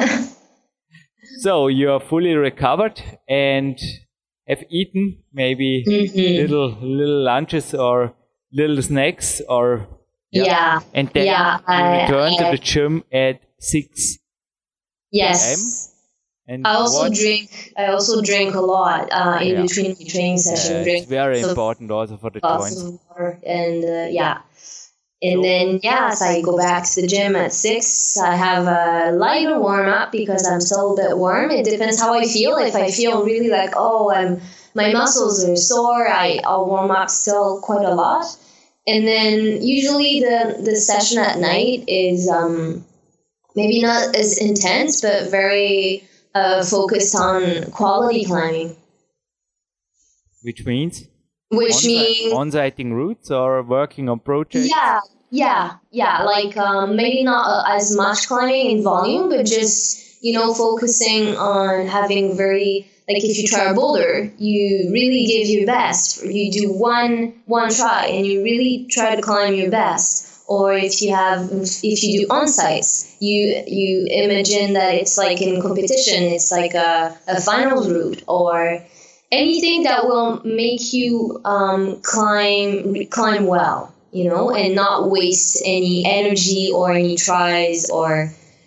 So you are fully recovered and have eaten maybe little lunches or little snacks, or Yeah. And then you return to the gym at 6 Yes. p.m. And I also drink a lot in between my training session. It's very important also for the joints. And And then, so I go back to the gym at 6. I have a lighter warm-up because I'm still a bit warm. It depends how I feel. If I feel really like, my muscles are sore, I'll warm up still quite a lot. And then usually the session at night is maybe not as intense, but very focused on quality climbing. Which means? Means on-siting routes or working on projects? Yeah. Like maybe not as much climbing in volume, but just focusing on having very, like if you try a boulder, you really give your best. You do one try and you really try to climb your best. Or if you do on-sites, you imagine that it's like in competition, it's like a finals route or anything that will make you climb well, and not waste any energy or any tries or,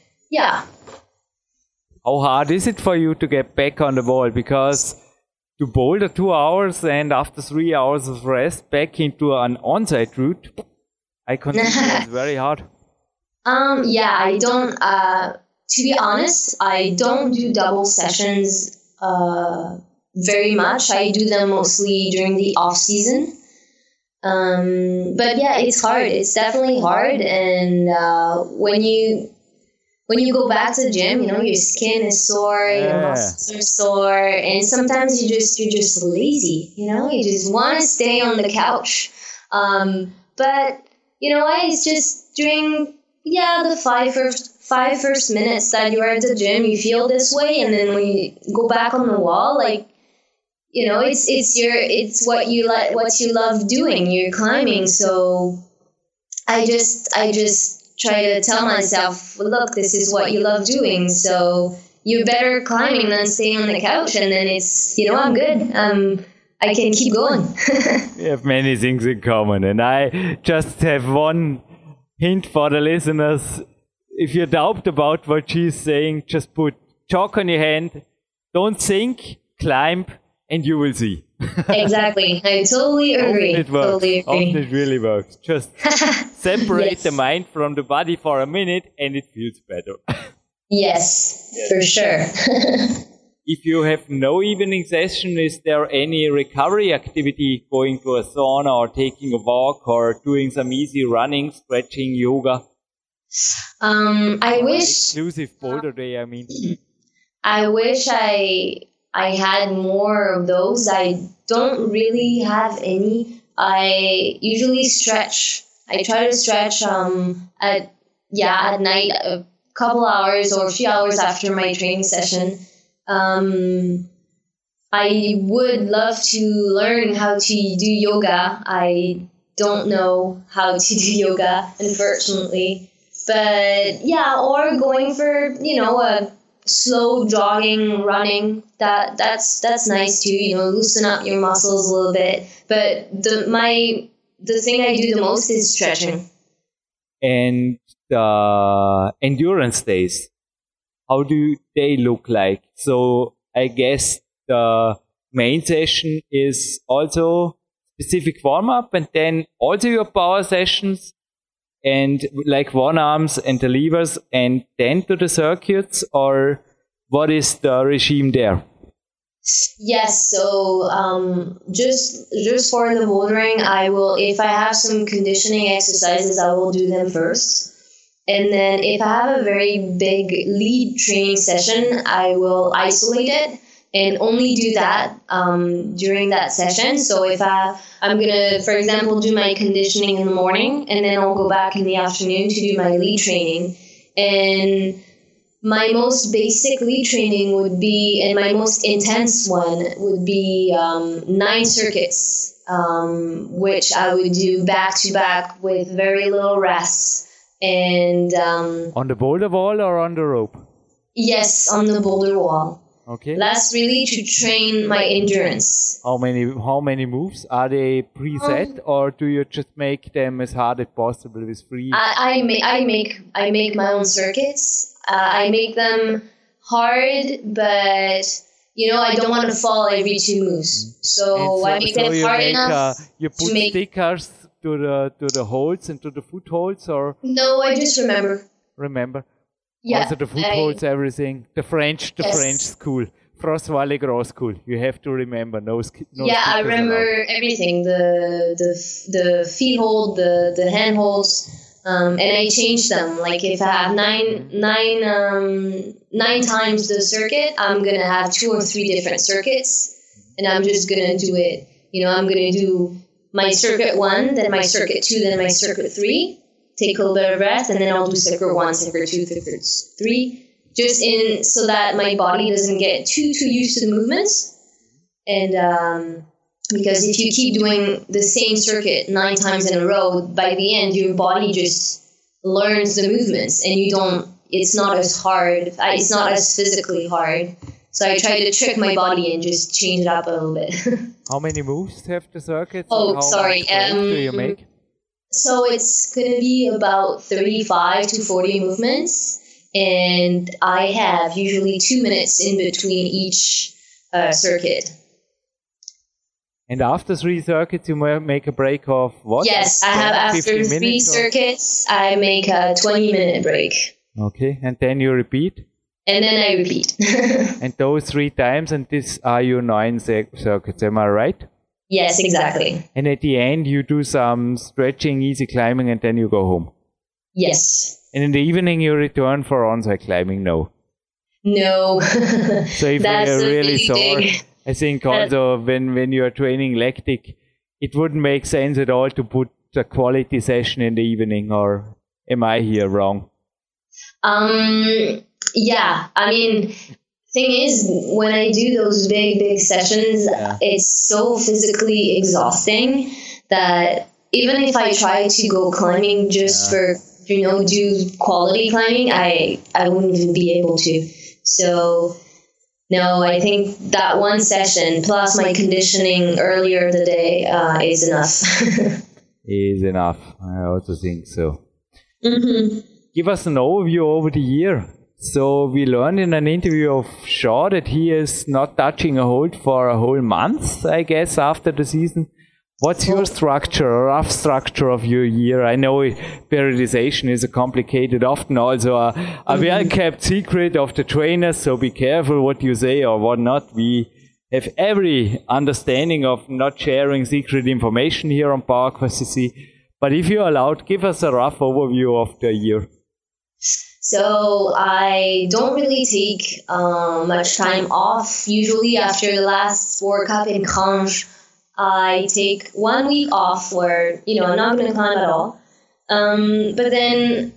How hard is it for you to get back on the wall? Because to boulder 2 hours and after 3 hours of rest back into an on-site route, I consider it's very hard. I don't, to be honest, I don't do double sessions, very much. I do them mostly during the off season. But it's hard. It's definitely hard. And when you go back to the gym, your skin is sore, your muscles are sore, and sometimes you're just lazy. You just want to stay on the couch. But it's just during the five first minutes that you are at the gym, you feel this way, and then when you go back on the wall, like. It's what you love doing. You're climbing, so I just try to tell myself, look, this is what you love doing, so you're better climbing than staying on the couch, and then it's I'm good. I can keep going. We have many things in common, and I just have one hint for the listeners. If you doubt about what she's saying, just put chalk on your hand, don't think, climb, and you will see. Exactly. I totally agree. Often it really works. Just separate the mind from the body for a minute and it feels better. Yes, for sure. If you have no evening session, is there any recovery activity, going to a sauna or taking a walk or doing some easy running, stretching, yoga? I wish... Exclusive boulder day, I mean. I wish I had more of those. I don't really have any. I usually stretch. I try to stretch at night, a couple hours or a few hours after my training session. I would love to learn how to do yoga. I don't know how to do yoga, unfortunately. But or going for, a slow jogging, running, that's nice too, loosen up your muscles a little bit. But the thing I do the most is stretching. And the endurance days, how do they look like? So I guess the main session is also specific warm-up and then also your power sessions and like one arms and the levers and then to the circuits, or what is the regime there? Yes, so just for the bouldering, I will, if I have some conditioning exercises, I will do them first. And then if I have a very big lead training session, I will isolate it and only do that during that session. So if I'm going to, for example, do my conditioning in the morning, and then I'll go back in the afternoon to do my lead training. And my most basic lead training would be, and my most intense one would be 9 circuits, which I would do back to back with very little rest. And on the boulder wall or on the rope? Yes, on the boulder wall. Okay. That's really to train my endurance. How many moves? Are they preset or do you just make them as hard as possible with free? I make my own circuits. I make them hard, but I don't want to fall every 2 moves. So I make them hard enough. You put stickers to the holds and to the footholds, or? No, I just remember. Yeah. Also the footholds, everything. The French school. François Legros school. You have to remember. No I remember everything. The feet hold, the hand holds, and I change them. Like if I have nine times the circuit, I'm gonna have 2 or 3 different circuits, and I'm just gonna do it. I'm gonna do my circuit 1, then my circuit 2, then my circuit 3. Take a little bit of rest, and then I'll do circuit 1, circuit 2, circuit 3. Just so that my body doesn't get too used to the movements. And because if you keep doing the same circuit 9 times in a row, by the end, your body just learns the movements and it's not as hard. It's not as physically hard. So I try to trick my body and just change it up a little bit. How many moves have the circuits? Oh, sorry. Do you make? So it's going to be about 35 to 40 movements. And I have usually 2 minutes in between each circuit. And after 3 circuits, you make a break of what? Yes, I have after 3 circuits, I make a 20-minute break. Okay, and then you repeat? And then I repeat. And those 3 times, and these are your 9 circuits, am I right? Yes, exactly. And at the end, you do some stretching, easy climbing, and then you go home? Yes. And in the evening, you return for on-site climbing? No. So if you're really sore, I think also when you are training lactic, it wouldn't make sense at all to put a quality session in the evening, or am I here wrong? Yeah, I mean, thing is, when I do those big sessions, it's so physically exhausting that even if I try to go climbing just for do quality climbing, I wouldn't even be able to. So, no, I think that one session plus my conditioning earlier the day is enough. Is enough. I also think so. Mm-hmm. Give us an overview over the year. So we learned in an interview of Shaw that he is not touching a hold for a whole month, I guess, after the season. What's your structure, or rough structure of your year? I know periodization is a complicated, often also a well-kept secret of the trainers, so be careful what you say or what not. We have every understanding of not sharing secret information here on PowerQuest CC. But if you're allowed, give us a rough overview of the year. So I don't really take much time off. Usually after the last Sport Cup in Grange, I take 1 week off where, I'm not going to climb at all. But then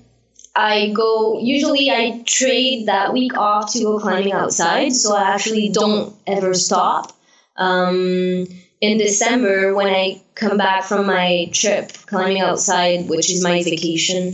usually I trade that week off to go climbing outside. So I actually don't ever stop. In December, when I come back from my trip climbing outside, which is my vacation,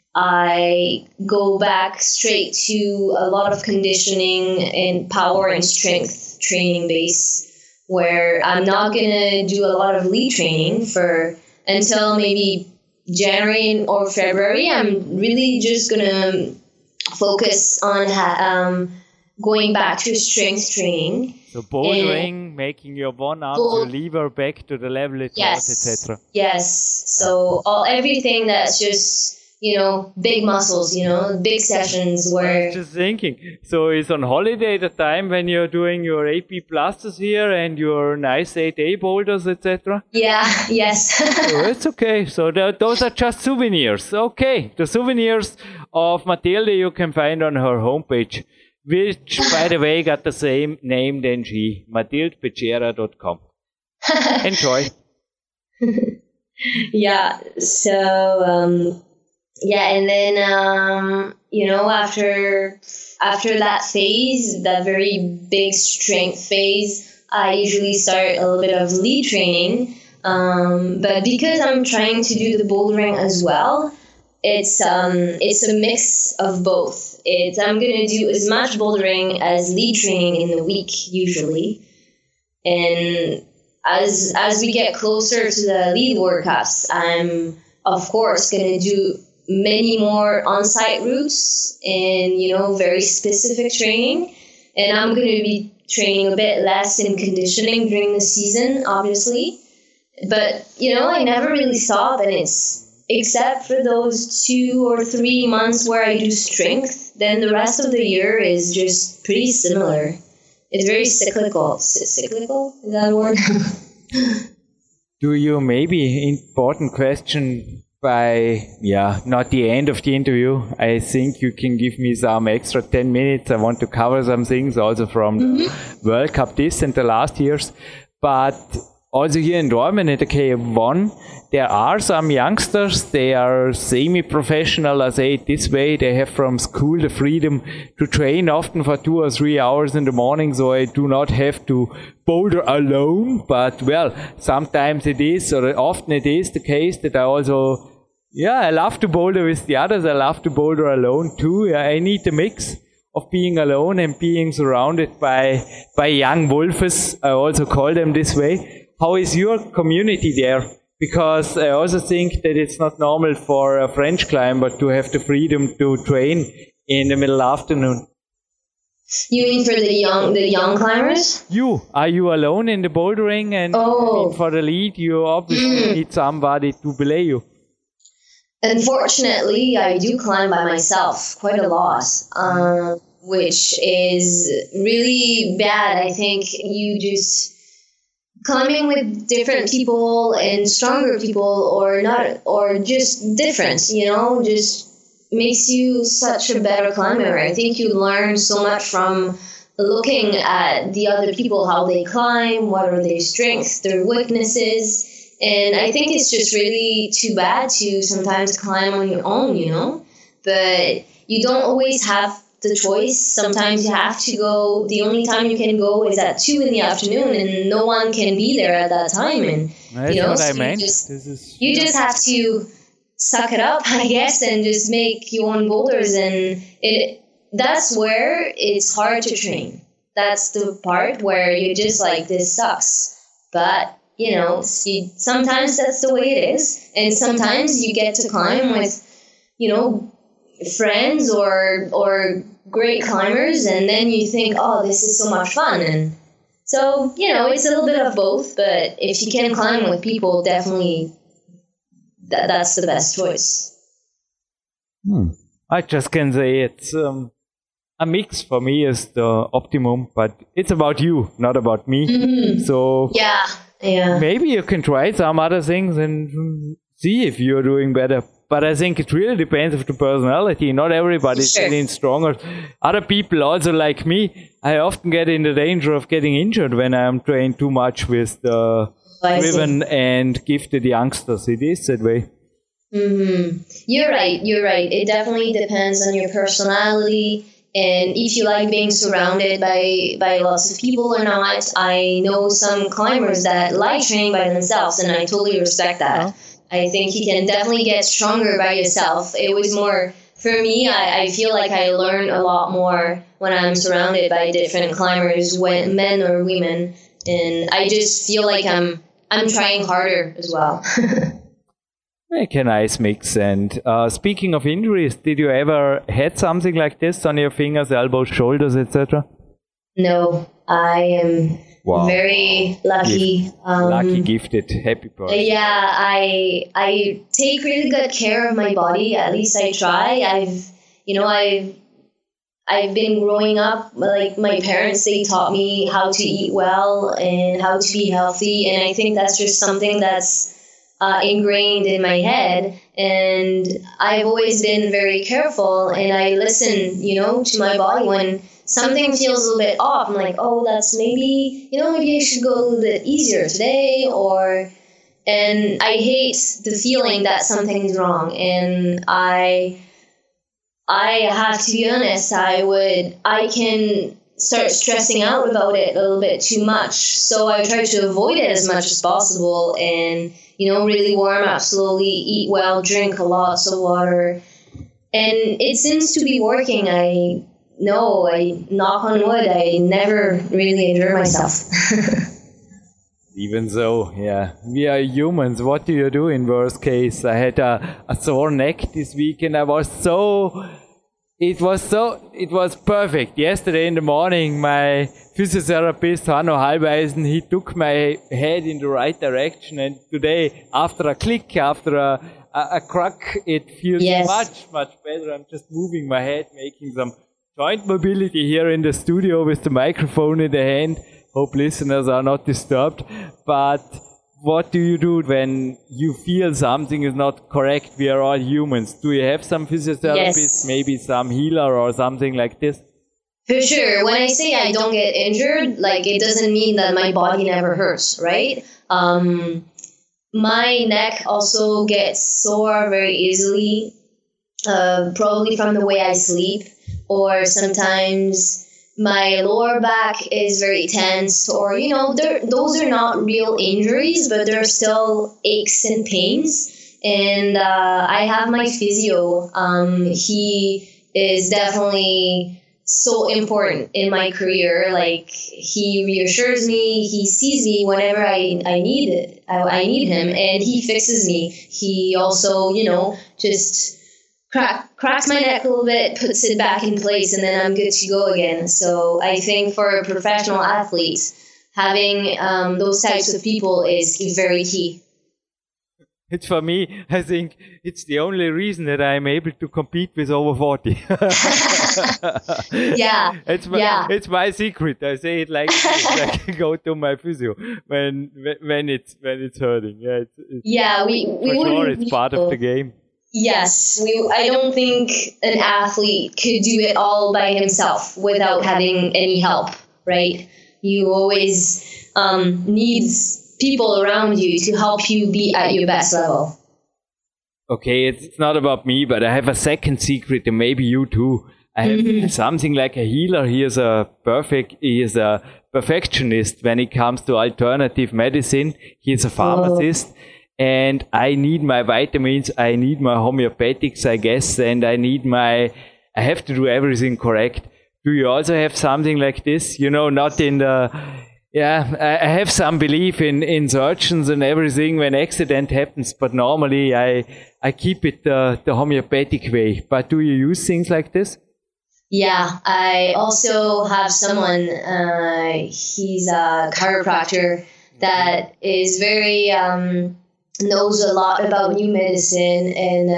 I go back straight to a lot of conditioning and power and strength training base, where I'm not going to do a lot of lead training until maybe January or February. I'm really just going to focus on going back to strength training. So bouldering, making your one-arm lever back to the level it was, etc. Yes. So everything that's just, big muscles, big sessions where... I was just thinking, so it's on holiday the time when you're doing your AP Pluses here and your nice 8A boulders, etc.? Yeah, yes. So it's okay. So those are just souvenirs. Okay, the souvenirs of Matilde you can find on her homepage, which, by the way, got the same name than she, matildebechera.com. Enjoy. Yeah, so... yeah, and then, after that phase, that very big strength phase, I usually start a little bit of lead training. But because I'm trying to do the bouldering as well, it's a mix of both. I'm going to do as much bouldering as lead training in the week usually. And as we get closer to the lead World Cups, I'm of course going to do many more on-site routes and, very specific training. And I'm going to be training a bit less in conditioning during the season, obviously. But, I never really stop, and except for those 2 or 3 months where I do strength, then the rest of the year is just pretty similar. It's very cyclical. Cyclical? Is that a word? Do you, maybe important question not the end of the interview. I think you can give me some extra 10 minutes. I want to cover some things also from the World Cup this and the last years. But also here in Dortmund at the KF1, there are some youngsters, they are semi-professional, I say it this way. They have from school the freedom to train often for 2 or 3 hours in the morning, so I do not have to boulder alone. But, sometimes it is, or often it is the case that I also, I love to boulder with the others. I love to boulder alone too. I need the mix of being alone and being surrounded by young wolves. I also call them this way. How is your community there? Because I also think that it's not normal for a French climber to have the freedom to train in the middle afternoon. You mean for the young climbers? Are you alone in the bouldering? And for the lead, you obviously need somebody to belay you. Unfortunately, I do climb by myself quite a lot, which is really bad. I think climbing with different people and stronger people or just different, just makes you such a better climber. I think you learn so much from looking at the other people, how they climb, what are their strengths, their weaknesses. And I think it's just really too bad to sometimes climb on your own, but you don't always have the choice. Sometimes you have to go, the only time you can go is at 2 in the afternoon and no one can be there at that time. And, that's what I meant. You just have to suck it up, I guess, and just make your own boulders. And that's where it's hard to train. That's the part where you're just like, this sucks. But, sometimes that's the way it is. And sometimes you get to climb with, friends or great climbers, and then you think, oh, this is so much fun. And so, it's a little bit of both, but if you can climb with people, definitely that's the best choice. I just can say it's a mix for me is the optimum, but it's about you, not about me. So maybe you can try some other things and see if you're doing better. But I think it really depends on the personality. Not everybody's getting stronger. Other people also like me, I often get in the danger of getting injured when I'm trained too much with the driven and gifted youngsters. It is that way. You're right. It definitely depends on your personality and if you like being surrounded by lots of people or not. I know some climbers that like training by themselves, and I totally respect that. I think you can definitely get stronger by yourself. It was more, for me, I feel like I learn a lot more when I'm surrounded by different climbers, men or women. And I just feel like I'm trying harder as well. Make a nice mix. And speaking of injuries, did you ever had something like this on your fingers, elbows, shoulders, etc.? No, I am very lucky. Lucky, gifted, happy person. Yeah, I take really good care of my body. At least I try. I've been growing up, like my parents, they taught me how to eat well and how to be healthy. And I think that's just something that's ingrained in my head. And I've always been very careful, and I listen, to my body when something feels a little bit off. I'm like, oh, that's maybe I should go a little bit easier today, and I hate the feeling that something's wrong. And I have to be honest, I can start stressing out about it a little bit too much. So I try to avoid it as much as possible and, really warm up slowly, eat well, drink a lot of water. And it seems to be working. I knock on wood, I never really injure myself. Even so, yeah, we are humans. What do you do in worst case? I had a sore neck this week, and it was perfect. Yesterday in the morning, my physiotherapist, Hanno Halbeisen, he took my head in the right direction, and today, after a click, after a crack, it feels much better. I'm just moving my head, making some joint mobility here in the studio with the microphone in the hand. Hope listeners are not disturbed. But what do you do when you feel something is not correct? We are all humans. Do you have some physiotherapist, maybe some healer or something like this? For sure. When I say I don't get injured, like, it doesn't mean that my body never hurts, right? My neck also gets sore very easily, probably from the way I sleep, or sometimes my lower back is very tense, or, those are not real injuries, but they're still aches and pains. And I have my physio. He is definitely so important in my career. Like, he reassures me, he sees me whenever I need it. I need him, and he fixes me. He also, just cracks my neck a little bit, puts it back in place, and then I'm good to go again. So I think for a professional athlete, having those types of people is very key. It's for me, I think it's the only reason that I'm able to compete with over 40. Yeah. It's my secret. I say it like this, like go to my physio when it's hurting. Yeah, we for sure it's part of the game. Yes, I don't think an athlete could do it all by himself without having any help, right? You always need people around you to help you be at your best level. Okay, it's not about me, but I have a second secret, and maybe you too. I have something like a healer. He is a perfectionist when it comes to alternative medicine. He is a pharmacist. And I need my vitamins, I need my homeopathics, I guess, and I have to do everything correct. Do you also have something like this? Not in the, I have some belief in surgeons and everything when accident happens, but normally I keep it the homeopathic way. But do you use things like this? Yeah, I also have someone, he's a chiropractor that is very, knows a lot about new medicine and,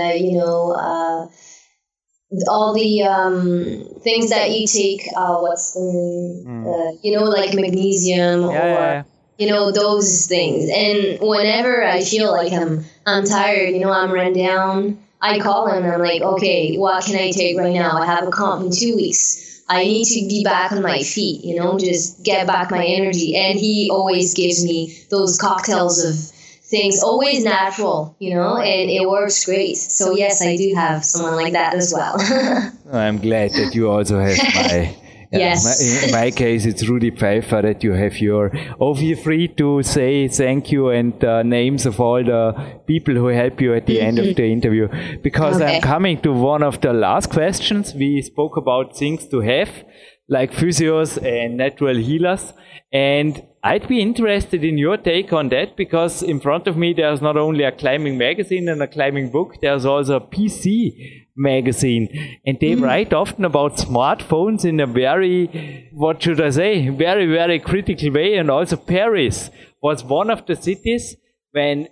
all the things that you take, what's the name? Like magnesium or, those things. And whenever I feel like I'm tired, I'm run down, I call him and I'm like, okay, what can I take right now? I have a comp in 2 weeks. I need to be back on my feet, just get back my energy. And he always gives me those cocktails of things, always natural, and it works great. So yes, I do have someone like that as well. I'm glad that you also have my... Yes. In my case, it's Rudi Pfeiffer that you have your... Oh, feel free to say thank you and names of all the people who help you at the end of the interview. Because I'm coming to one of the last questions. We spoke about things to have, like physios and natural healers. And I'd be interested in your take on that, because in front of me there's not only a climbing magazine and a climbing book, there's also a PC magazine. And they write often about smartphones in a very, very, very critical way. And also Paris was one of the cities when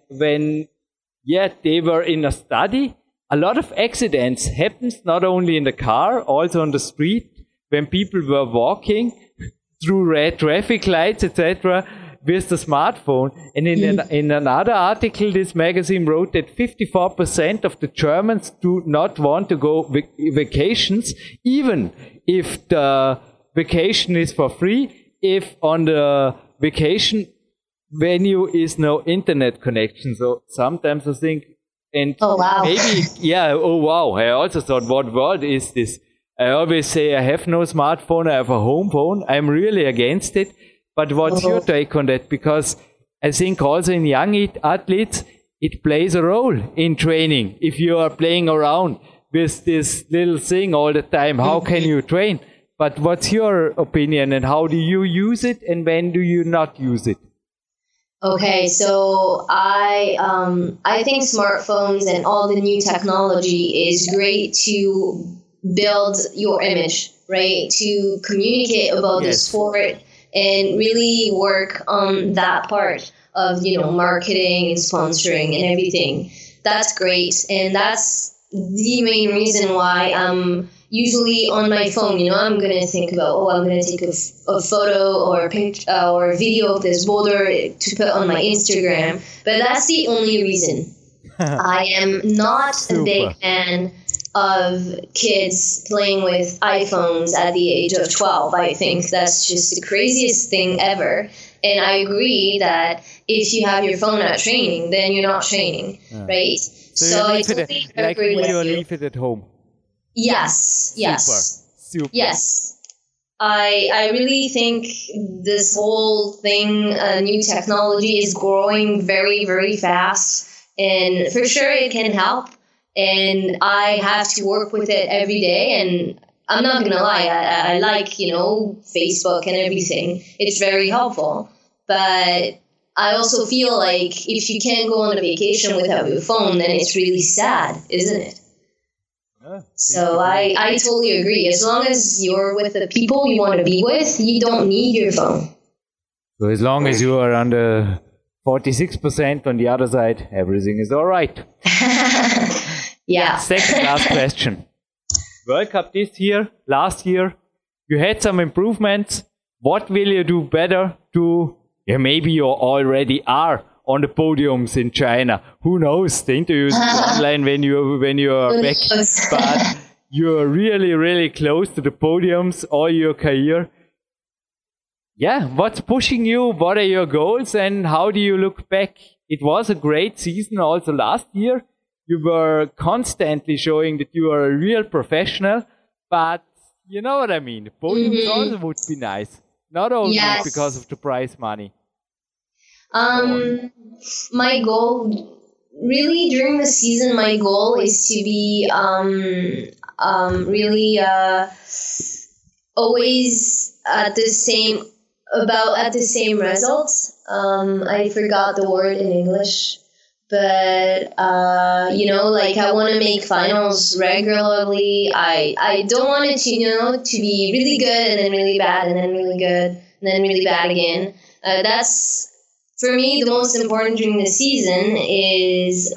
they were in a study. A lot of accidents happens not only in the car, also on the street, when people were walking through red traffic lights, etc., with the smartphone. And in another article, this magazine wrote that 54% of the Germans do not want to go vacations, even if the vacation is for free, if on the vacation venue is no internet connection. So sometimes I think, and maybe, I also thought, what world is this? I always say I have no smartphone, I have a home phone. I'm really against it. But what's your take on that? Because I think also in young athletes, it plays a role in training. If you are playing around, with this little thing all the time. How can you train? But what's your opinion, and how do you use it, and when do you not use it? Okay, so I think smartphones and all the new technology is great to build your image, right? To communicate about the sport and really work on that part of, marketing and sponsoring and everything. That's great. And that's the main reason why I'm usually on my phone, I'm going to think about, I'm going to take a photo or a picture or a video of this boulder to put on my Instagram. But that's the only reason. I am not a big fan of kids playing with iPhones at the age of 12. I think that's just the craziest thing ever. And I agree that if you have your phone at training, then you're not training, right? So I totally agree with you. Leave it at home. Yes. Super. Yes. I really think this whole thing, new technology, is growing very, very fast. And for sure it can help. And I have to work with it every day. And I'm not going to lie, I like, Facebook and everything. It's very helpful. But I also feel like if you can't go on a vacation without your phone, then it's really sad, isn't it? So I totally agree. As long as you're with the people you want to be with, you don't need your phone. So as long as you are under 46% on the other side, everything is all right. Yeah. Second last question. World Cup this year, last year, you had some improvements. What will you do better to, maybe you already are on the podiums in China. Who knows? The interviews online when you are back. But you're really, really close to the podiums all your career. Yeah, what's pushing you? What are your goals? And how do you look back? It was a great season also last year. You were constantly showing that you are a real professional. But you know what I mean. The podiums also would be nice. Not only because of the prize money. My goal, really during the season, my goal is to be really always at the same results. I forgot the word in English, but I want to make finals regularly. I don't want it to be really good and then really bad and then really good and then really bad again. That's, for me, the most important during the season is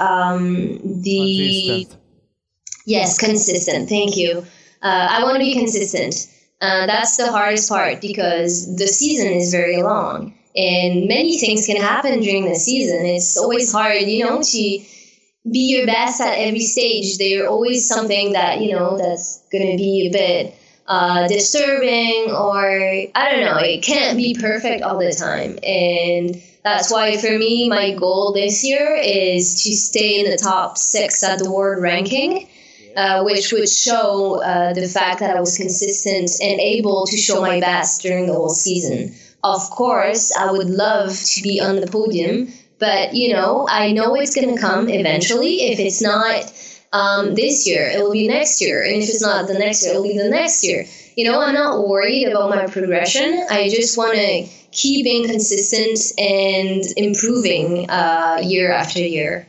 consistent. Thank you. I want to be consistent. That's the hardest part because the season is very long and many things can happen during the season. It's always hard, to be your best at every stage. There's always something that, that's going to be a bit disturbing, or I don't know, it can't be perfect all the time. And that's why for me, my goal this year is to stay in the top 6 at the world ranking, which would show the fact that I was consistent and able to show my best during the whole season. Of course, I would love to be on the podium, but I know it's going to come eventually. If it's not this year, it will be next year. And if it's not the next year, it will be the next year. I'm not worried about my progression. I just want to keep being consistent and improving year after year.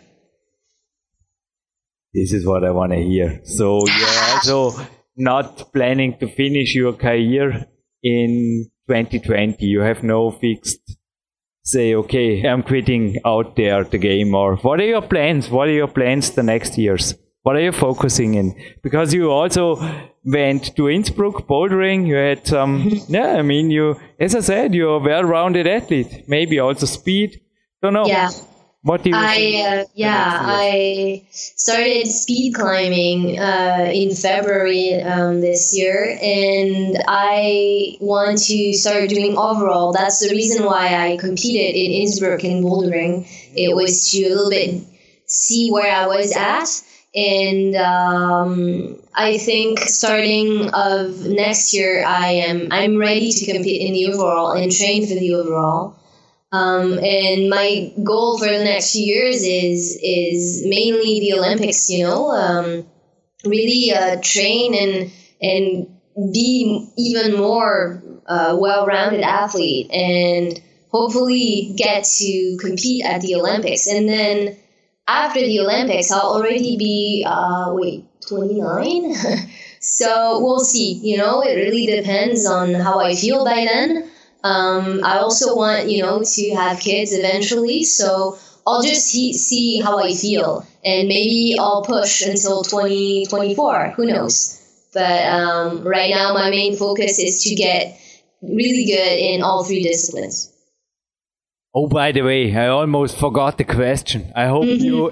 This is what I want to hear. So you're also not planning to finish your career in 2020. You have no fixed, say, okay, I'm quitting out there the game. Or what are your plans? What are your plans the next years? What are you focusing in? Because you also went to Innsbruck bouldering. You had some, you, as I said, you're a well-rounded athlete. Maybe also speed. Don't know. Yeah. What do you think? I started speed climbing in February this year, and I want to start doing overall. That's the reason why I competed in Innsbruck in bouldering. It was to a little bit see where I was at. And I think starting of next year, I'm ready to compete in the overall and train for the overall. And my goal for the next few years is mainly the Olympics. really train and be even more well-rounded athlete, and hopefully get to compete at the Olympics. And then after the Olympics, I'll already be 29. So we'll see. You know, it really depends on how I feel by then. I also want, to have kids eventually. So I'll just see how I feel. And maybe I'll push until 2024. Who knows? But right now, my main focus is to get really good in all three disciplines. Oh, by the way, I almost forgot the question. I hope you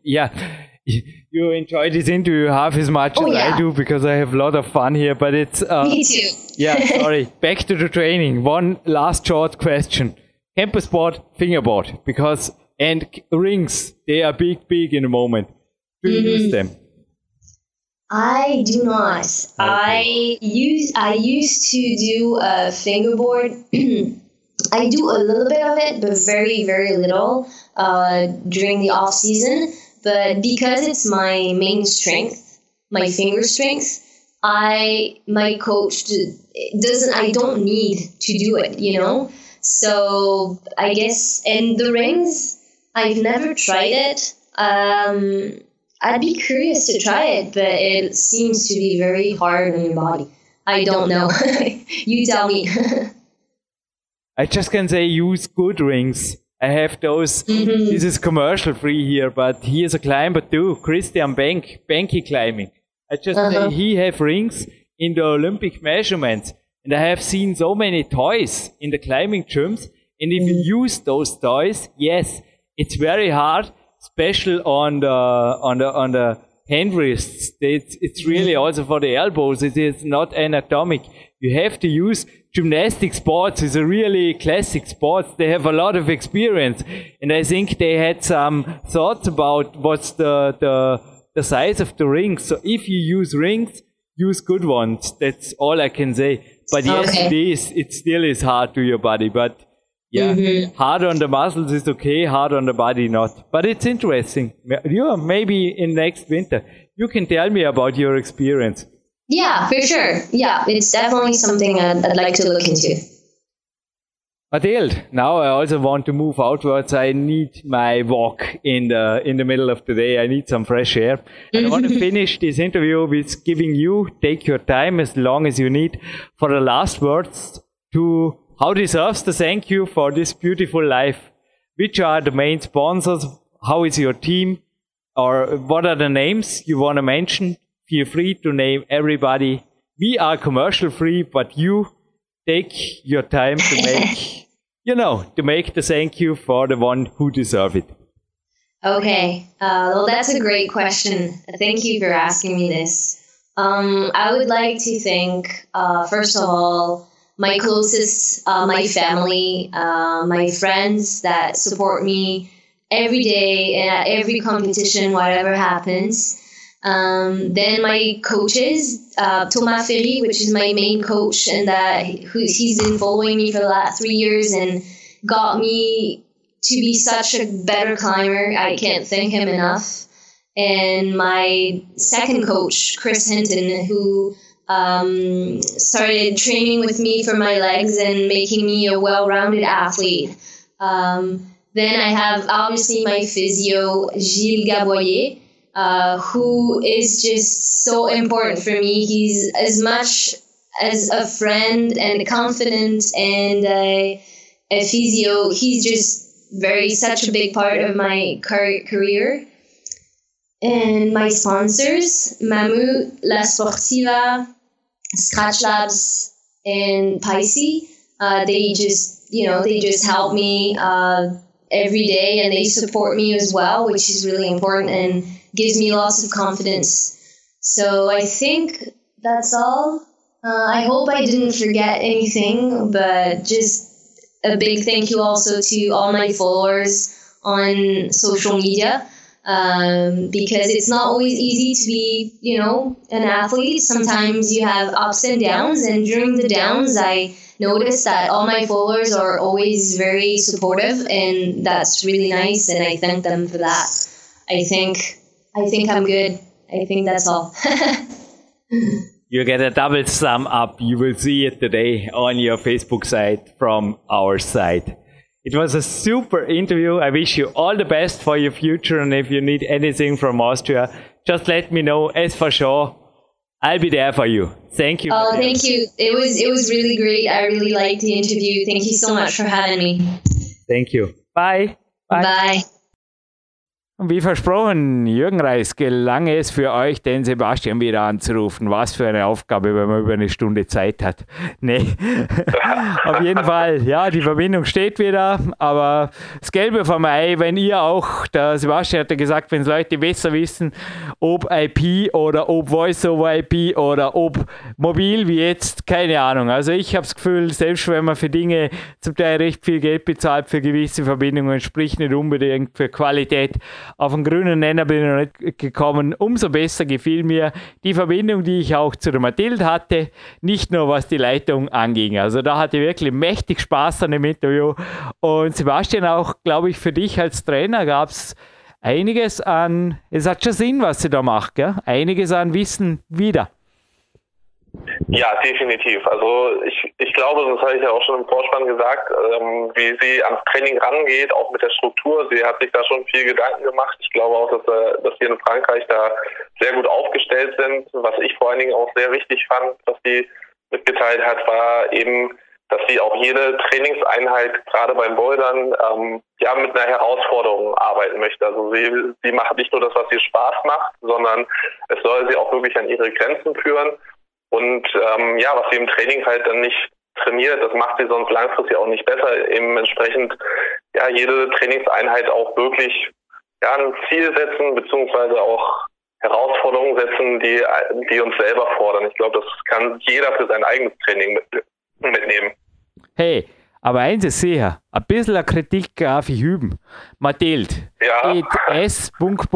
enjoy this interview half as much as I do, because I have a lot of fun here. But it's me too. Yeah, sorry. Back to the training. One last short question: campus board, fingerboard, and rings. They are big in the moment. Do you use them? I do not. Okay. I used to do a fingerboard. I do a little bit of it, but very, very little during the off season. But because it's my main strength, my finger strength, my coach I don't need to do it, So I guess, and the rings, I've never tried it. I'd be curious to try it, but it seems to be very hard on your body. I don't know. You tell me. I just can say use good rings. I have those. This is commercial free here, but he is a climber too. Christian Banky climbing. I just say he have rings in the Olympic measurements, and I have seen so many toys in the climbing gyms. And if you use those toys, yes, it's very hard, especially on the hand wrists. It's really also for the elbows. It is not anatomic. You have to use. Gymnastic sports is a really classic sport. They have a lot of experience, and I think they had some thoughts about what's the size of the rings. So if you use rings, use good ones. That's all I can say. But yes, it still is hard to your body. But hard on the muscles is okay, hard on the body not. But it's interesting. Maybe in next winter, you can tell me about your experience. Yeah, for sure. Yeah, it's definitely something I'd like to look into. Mathilde, now I also want to move outwards. I need my walk in the middle of the day. I need some fresh air. And I want to finish this interview with giving you, take your time as long as you need, for the last words to how deserves the thank you for this beautiful life. Which are the main sponsors? How is your team? Or what are the names you want to mention? Feel free to name everybody. We are commercial free, but you take your time to make, to make the thank you for the one who deserve it. Okay. Well, that's a great question. Thank you for asking me this. I would like to thank, first of all, my closest, my family, my friends that support me every day and at every competition, whatever happens. Then my coaches, Thomas Ferry, which is my main coach, and he's been following me for the last 3 years and got me to be such a better climber. I can't thank him enough. And my second coach, Chris Hinton, who started training with me for my legs and making me a well-rounded athlete. Then I have obviously my physio, Gilles Gaboyer, who is just so important for me. He's as much as a friend and a confidant and a physio. He's just such a big part of my career. And my sponsors, Mammut, La Sportiva, Scratch Labs, and Pisces, they just help me every day, and they support me as well, which is really important and gives me lots of confidence. So I think that's all. I hope I didn't forget anything, but just a big thank you also to all my followers on social media, because it's not always easy to be, an athlete. Sometimes you have ups and downs, and during the downs, I noticed that all my followers are always very supportive, and that's really nice, and I thank them for that. I think I'm good. I think that's all. You get a double thumb up. You will see it today on your Facebook site from our side. It was a super interview. I wish you all the best for your future. And if you need anything from Austria, just let me know. As for sure, I'll be there for you. Thank you. Oh, thank you. It was really great. I really liked the interview. Thank you so much for having me. Thank you. Bye. Bye. Und wie versprochen, Jürgen Reis, gelang es für euch, den Sebastian wieder anzurufen. Was für eine Aufgabe, wenn man über eine Stunde Zeit hat. Nee, auf jeden Fall, ja, die Verbindung steht wieder, aber das Gelbe vom Ei, wenn ihr auch, der Sebastian hat ja gesagt, wenn es Leute besser wissen, ob IP oder ob Voice-over-IP oder ob mobil wie jetzt, keine Ahnung. Also ich habe das Gefühl, selbst wenn man für Dinge zum Teil recht viel Geld bezahlt, für gewisse Verbindungen, sprich nicht unbedingt für Qualität, auf einen grünen Nenner bin ich noch nicht gekommen. Umso besser gefiel mir die Verbindung, die ich auch zu der Mathilde hatte. Nicht nur was die Leitung anging. Also da hatte ich wirklich mächtig Spaß an dem Interview. Und Sebastian, auch, glaube ich, für dich als Trainer gab es einiges an, es hat schon Sinn, was sie da macht, gell? Einiges an Wissen wieder. Ja, definitiv. Also ich glaube, das habe ich ja auch schon im Vorspann gesagt, wie sie ans Training rangeht, auch mit der Struktur. Sie hat sich da schon viel Gedanken gemacht. Ich glaube auch, dass wir in Frankreich da sehr gut aufgestellt sind. Was ich vor allen Dingen auch sehr wichtig fand, was sie mitgeteilt hat, war eben, dass sie auch jede Trainingseinheit, gerade beim Bouldern, mit einer Herausforderung arbeiten möchte. Also sie macht nicht nur das, was ihr Spaß macht, sondern es soll sie auch wirklich an ihre Grenzen führen. Und was sie im Training halt dann nicht trainiert, das macht sie sonst langfristig auch nicht besser. Eben entsprechend jede Trainingseinheit auch wirklich ein Ziel setzen, beziehungsweise auch Herausforderungen setzen, die uns selber fordern. Ich glaube, das kann jeder für sein eigenes Training mitnehmen. Hey, aber eins ist sicher, ein bisschen Kritik darf ich üben. Mathilde, S.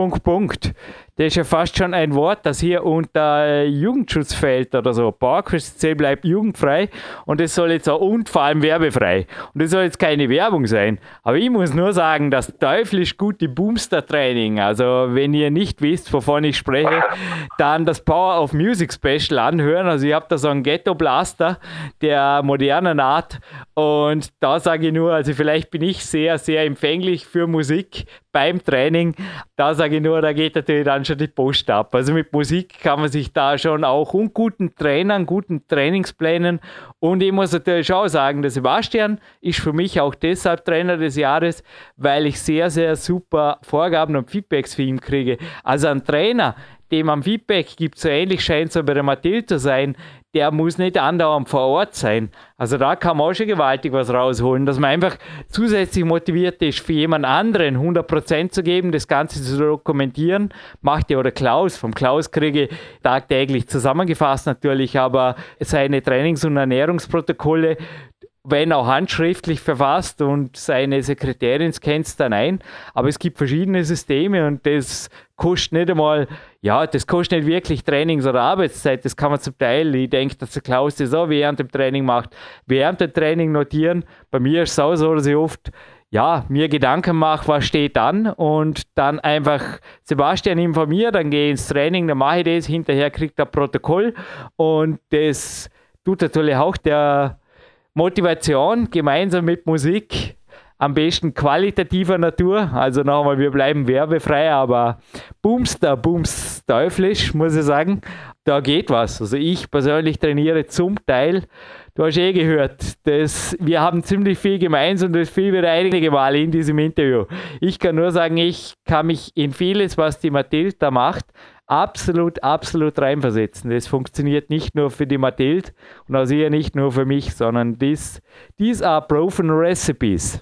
Das ist ja fast schon ein Wort, das hier unter Jugendschutz fällt oder so. PowerQuest bleibt jugendfrei und es soll jetzt auch und vor allem werbefrei. Und das soll jetzt keine Werbung sein. Aber ich muss nur sagen, das teuflisch gute Boomster-Training, also wenn ihr nicht wisst, wovon ich spreche, dann das Power of Music Special anhören. Also ich habe da so einen Ghetto-Blaster der modernen Art und da sage ich nur, also vielleicht bin ich sehr, sehr empfänglich für Musik beim Training. Da sage ich nur, da geht natürlich dann schon die Post ab. Also mit Musik kann man sich da schon auch und guten Trainern, guten Trainingsplänen und ich muss natürlich auch sagen, der Sebastian ist für mich auch deshalb Trainer des Jahres, weil ich sehr, sehr super Vorgaben und Feedbacks für ihn kriege. Also ein Trainer, dem man Feedback gibt, so ähnlich scheint es bei der Mathilde zu sein, der muss nicht andauernd vor Ort sein. Also da kann man auch schon gewaltig was rausholen, dass man einfach zusätzlich motiviert ist, für jemand anderen 100% zu geben, das Ganze zu dokumentieren. Macht ja oder Klaus. Vom Klaus kriege ich tagtäglich zusammengefasst natürlich, aber seine Trainings- und Ernährungsprotokolle, wenn auch handschriftlich verfasst und seine Sekretärin scannt es dann ein. Aber es gibt verschiedene Systeme und das kostet nicht einmal, das kostet nicht wirklich Trainings- oder Arbeitszeit. Das kann man zum Teil, ich denke, dass der Klaus das auch während dem Training macht, während dem Training notieren. Bei mir ist es auch so, dass ich oft mir Gedanken mache, was steht an und dann einfach Sebastian informiert, dann gehe ich ins Training, dann mache ich das, hinterher kriegt er ein Protokoll und das tut natürlich auch der Motivation gemeinsam mit Musik, am besten qualitativer Natur, also nochmal, wir bleiben werbefrei, aber booms teuflisch, muss ich sagen, da geht was. Also ich persönlich trainiere zum Teil, du hast gehört, wir haben ziemlich viel gemeinsam und das fiel wieder einige Male in diesem Interview. Ich kann nur sagen, ich kann mich in vieles, was die Mathilde da macht, absolut reinversetzen. Das funktioniert nicht nur für die Mathilde und auch sicher nicht nur für mich, sondern these are proven recipes.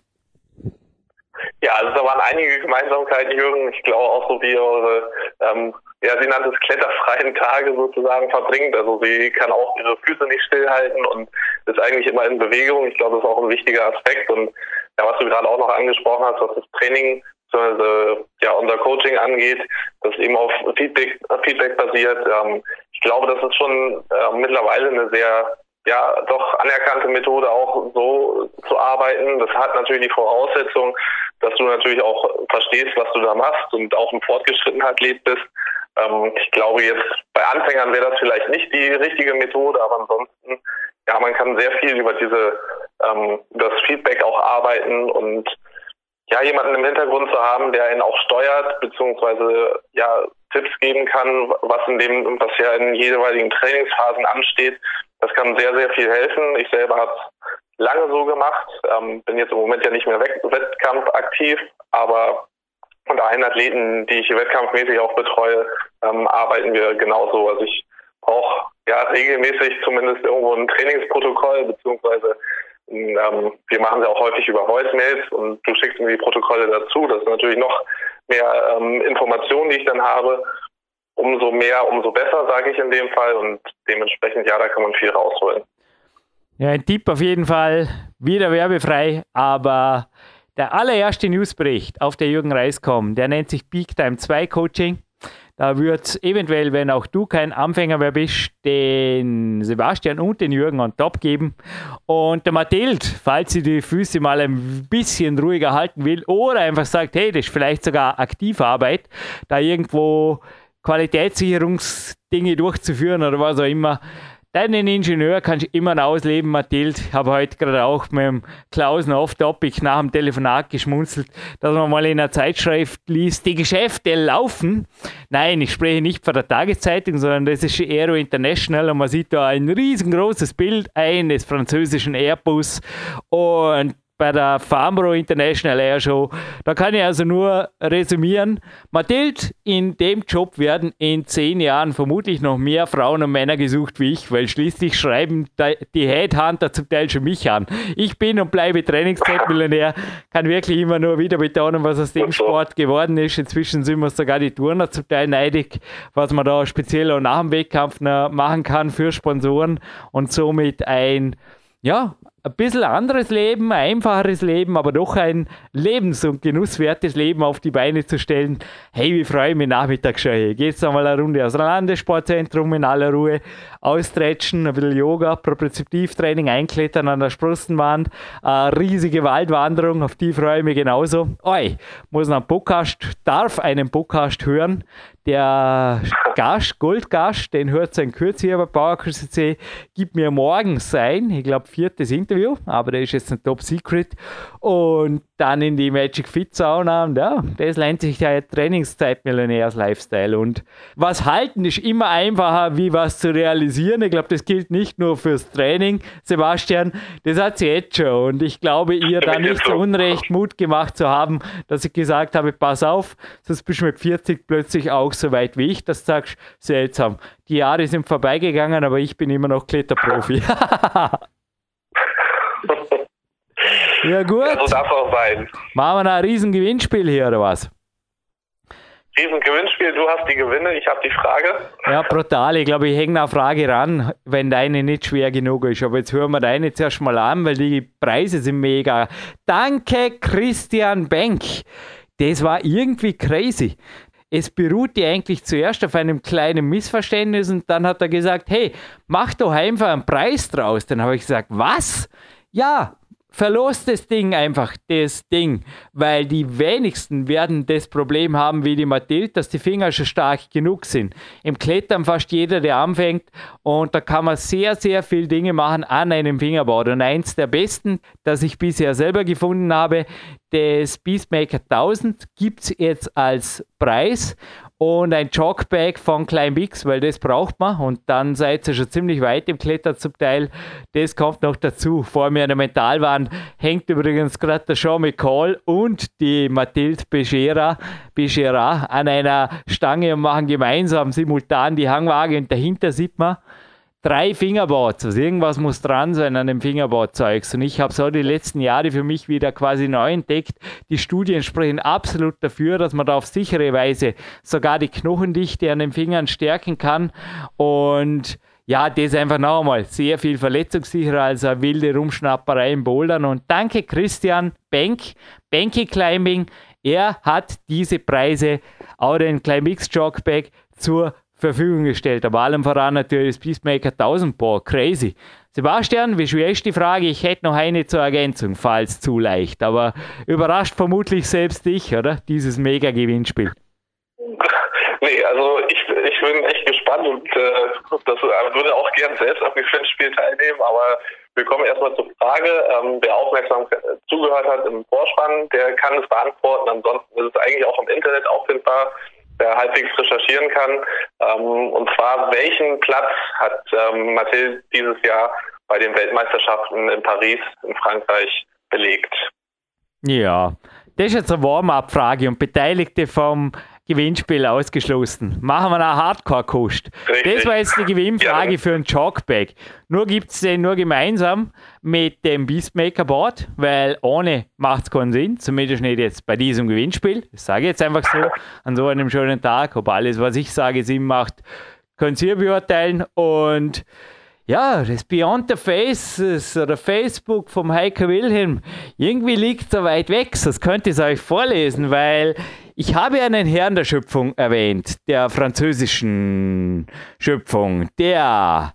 Ja, also da waren einige Gemeinsamkeiten, Jürgen. Ich glaube auch so, wie eure, sie nannte es kletterfreien Tage sozusagen verbringt. Also sie kann auch ihre Füße nicht stillhalten und ist eigentlich immer in Bewegung. Ich glaube, das ist auch ein wichtiger Aspekt. Und was du gerade auch noch angesprochen hast, was das Training unser Coaching angeht, das eben auf Feedback basiert. Ich glaube, das ist schon mittlerweile eine sehr doch anerkannte Methode, auch so zu arbeiten. Das hat natürlich die Voraussetzung, dass du natürlich auch verstehst, was du da machst und auch im Fortgeschrittenheit bist. Ich glaube jetzt, bei Anfängern wäre das vielleicht nicht die richtige Methode, aber ansonsten, ja, man kann sehr viel über das Feedback auch arbeiten und ja, jemanden im Hintergrund zu haben, der ihn auch steuert, beziehungsweise ja, Tipps geben kann, was ja in jeweiligen Trainingsphasen ansteht. Das kann sehr, sehr viel helfen. Ich selber habe es lange so gemacht, bin jetzt im Moment ja nicht mehr wettkampfaktiv, aber unter allen Athleten, die ich wettkampfmäßig auch betreue, arbeiten wir genauso. Also ich brauche ja regelmäßig zumindest irgendwo ein Trainingsprotokoll, beziehungsweise wir machen es auch häufig über Voicemails und du schickst mir die Protokolle dazu. Das ist natürlich noch mehr Informationen, die ich dann habe. Umso mehr, umso besser, sage ich in dem Fall. Und dementsprechend, ja, da kann man viel rausholen. Ja, ein Tipp auf jeden Fall, wieder werbefrei, aber der allererste Newsbericht auf der Jürgen-Reis.com, der nennt sich Peak Time 2 Coaching. Da wird es eventuell, wenn auch du kein Anfänger mehr bist, den Sebastian und den Jürgen on top geben. Und der Mathilde, falls sie die Füße mal ein bisschen ruhiger halten will oder einfach sagt, hey, das ist vielleicht sogar Aktivarbeit, da irgendwo Qualitätssicherungsdinge durchzuführen oder was auch immer. Deinen Ingenieur kannst du immer noch ausleben, Mathilde. Ich habe heute gerade auch mit dem Klausen off-topic nach dem Telefonat geschmunzelt, dass man mal in einer Zeitschrift liest, die Geschäfte laufen. Nein, ich spreche nicht von der Tageszeitung, sondern das ist Aero International und man sieht da ein riesengroßes Bild eines französischen Airbus und bei der Farnborough International Air Show. Da kann ich also nur resümieren. Mathilde, in dem Job werden in 10 Jahren vermutlich noch mehr Frauen und Männer gesucht wie ich, weil schließlich schreiben die Headhunter zum Teil schon mich an. Ich bin und bleibe Trainingszeitmillionär, kann wirklich immer nur wieder betonen, was aus dem Sport geworden ist. Inzwischen sind wir sogar die Turner zum Teil neidig, was man da speziell auch nach dem Wettkampf noch machen kann für Sponsoren und somit ein bisschen anderes Leben, ein einfacheres Leben, aber doch ein lebens- und genusswertes Leben auf die Beine zu stellen. Hey, wie freue ich mich nachmittags schon. Hey, geht's einmal eine Runde aus dem Landessportzentrum in aller Ruhe, austretschen, ein bisschen Yoga, Propriozeptivtraining, einklettern an der Sprossenwand, eine riesige Waldwanderung, auf die freue ich mich genauso. Darf einen Podcast hören. Der Gast, Goldgast, den hört sein Kürze hier bei PowerQuest, gibt mir morgen sein, ich glaube 4. Interview, aber der ist jetzt ein Top Secret, und dann in die Magic Fit Sauna, und ja, das nennt sich ja Trainingszeitmillionärs-Lifestyle. Und was halten ist immer einfacher, wie was zu realisieren. Ich glaube, das gilt nicht nur fürs Training, Sebastian, das hat sie jetzt schon, und ich glaube, ihr da nicht zu Unrecht Mut gemacht zu haben, dass ich gesagt habe, pass auf, sonst bist du mit 40 plötzlich auch so weit wie ich, dass du sagst, seltsam, die Jahre sind vorbeigegangen, aber ich bin immer noch Kletterprofi. Ja gut. Ja, so darf es auch sein. Machen wir noch ein Riesengewinnspiel hier, oder was? Riesengewinnspiel, du hast die Gewinne, ich habe die Frage. Ja, brutal. Ich glaube, ich hänge eine Frage ran, wenn deine nicht schwer genug ist. Aber jetzt hören wir deine zuerst mal an, weil die Preise sind mega. Danke, Christian Benk. Das war irgendwie crazy. Es beruhte eigentlich zuerst auf einem kleinen Missverständnis, und dann hat er gesagt, hey, mach doch einfach einen Preis draus. Dann habe ich gesagt, was? Ja, verlost das Ding, weil die wenigsten werden das Problem haben wie die Mathilde, dass die Finger schon stark genug sind. Im Klettern fast jeder, der anfängt, und da kann man sehr, sehr viele Dinge machen an einem Fingerboard. Und eins der besten, das ich bisher selber gefunden habe, das Beastmaker 1000 gibt es jetzt als Preis, und ein Jogbag von Climbix, weil das braucht man, und dann seid ihr schon ziemlich weit im Klettern zum Teil. Das kommt noch dazu. Vor mir an der Mentalwand hängt übrigens gerade der Sean McCall und die Mathilde Becerra an einer Stange und machen gemeinsam simultan die Hangwaage, und dahinter sieht man 3 Fingerboards, also irgendwas muss dran sein an dem Fingerboard-Zeugs. Und ich habe so die letzten Jahre für mich wieder quasi neu entdeckt. Die Studien sprechen absolut dafür, dass man da auf sichere Weise sogar die Knochendichte an den Fingern stärken kann. Und ja, das ist einfach noch einmal sehr viel verletzungssicherer als eine wilde Rumschnapperei im Bouldern. Und danke Christian Benk, Benky Climbing. Er hat diese Preise, auch den Climbix Jogbag, zur Verfügung gestellt, aber allem voran natürlich das Beastmaker 1000. Boah, crazy. Sebastian, wie schwer ist die Frage? Ich hätte noch eine zur Ergänzung, falls zu leicht, aber überrascht vermutlich selbst dich, oder? Dieses Mega-Gewinnspiel. Nee, also ich bin echt gespannt und das würde auch gern selbst am Gewinnspiel teilnehmen, aber wir kommen erstmal zur Frage. Wer aufmerksam zugehört hat im Vorspann, der kann es beantworten. Ansonsten ist es eigentlich auch im Internet auffindbar, wer halbwegs recherchieren kann. Und zwar, welchen Platz hat Mathilde dieses Jahr bei den Weltmeisterschaften in Paris in Frankreich belegt? Ja, das ist jetzt eine Warm-up-Frage und Beteiligte vom Gewinnspiel ausgeschlossen. Machen wir eine Hardcore-Kost. Das war jetzt die Gewinnfrage für ein Jogbag. Nur gibt es den nur gemeinsam mit dem Beastmaker-Board, weil ohne macht es keinen Sinn, zumindest nicht jetzt bei diesem Gewinnspiel. Das sage ich jetzt einfach so, an so einem schönen Tag. Ob alles, was ich sage, Sinn macht, könnt ihr beurteilen. Und ja, das Beyond the Faces oder Facebook vom Heiko Wilhelm, irgendwie liegt so weit weg, das könnte ich euch vorlesen, weil ich habe einen Herrn der Schöpfung erwähnt, der französischen Schöpfung, der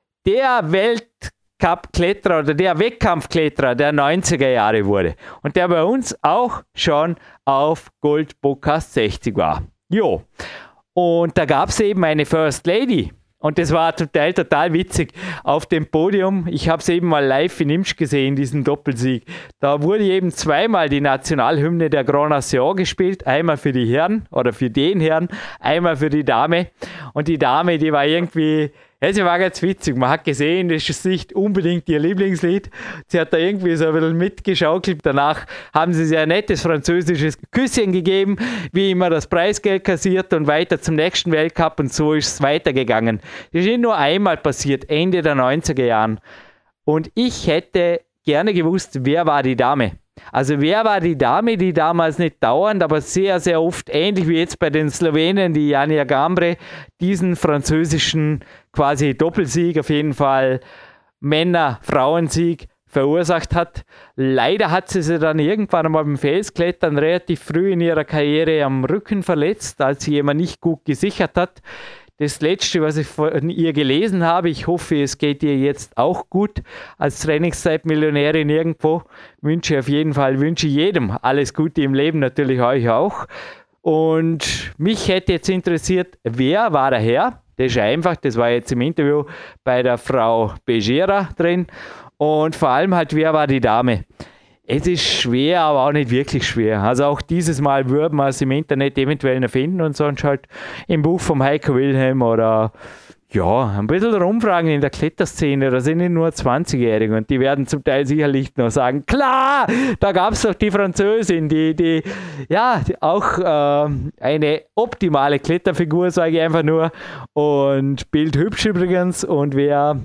Weltcup-Kletterer oder der Wettkampfkletterer der 90er Jahre wurde und der bei uns auch schon auf Gold Podcast 60 war. Jo, und da gab es eben eine First Lady. Und das war total witzig auf dem Podium. Ich habe es eben mal live in Imsch gesehen, diesen Doppelsieg. Da wurde eben zweimal die Nationalhymne der Grand Nation gespielt. Einmal für die Herren oder für den Herrn, einmal für die Dame. Und die Dame, die war irgendwie, ja, sie war ganz witzig. Man hat gesehen, das ist nicht unbedingt ihr Lieblingslied. Sie hat da irgendwie so ein bisschen mitgeschaukelt. Danach haben sie sehr nettes französisches Küsschen gegeben, wie immer das Preisgeld kassiert und weiter zum nächsten Weltcup und so ist es weitergegangen. Das ist nicht nur einmal passiert, Ende der 90er Jahren. Und ich hätte gerne gewusst, wer war die Dame? Also wer war die Dame, die damals nicht dauernd, aber sehr, sehr oft, ähnlich wie jetzt bei den Slowenen, die Janja Gambre, diesen französischen quasi Doppelsieg, auf jeden Fall Männer-Frauensieg verursacht hat. Leider hat sie dann irgendwann einmal beim Felsklettern relativ früh in ihrer Karriere am Rücken verletzt, als sie jemand nicht gut gesichert hat. Das Letzte, was ich von ihr gelesen habe, ich hoffe, es geht ihr jetzt auch gut als Trainingszeitmillionärin irgendwo. Wünsche jedem alles Gute im Leben, natürlich euch auch. Und mich hätte jetzt interessiert, wer war der Herr? Das ist einfach, das war jetzt im Interview bei der Frau Begera drin. Und vor allem halt, wer war die Dame? Es ist schwer, aber auch nicht wirklich schwer. Also auch dieses Mal würden wir es im Internet eventuell noch finden und sonst halt im Buch vom Heiko Wilhelm oder ja, ein bisschen rumfragen in der Kletterszene. Da sind nicht nur 20-Jährige und die werden zum Teil sicherlich noch sagen, klar, da gab es doch die Französin, die auch eine optimale Kletterfigur, sage ich einfach nur. Und bildhübsch übrigens. Und wer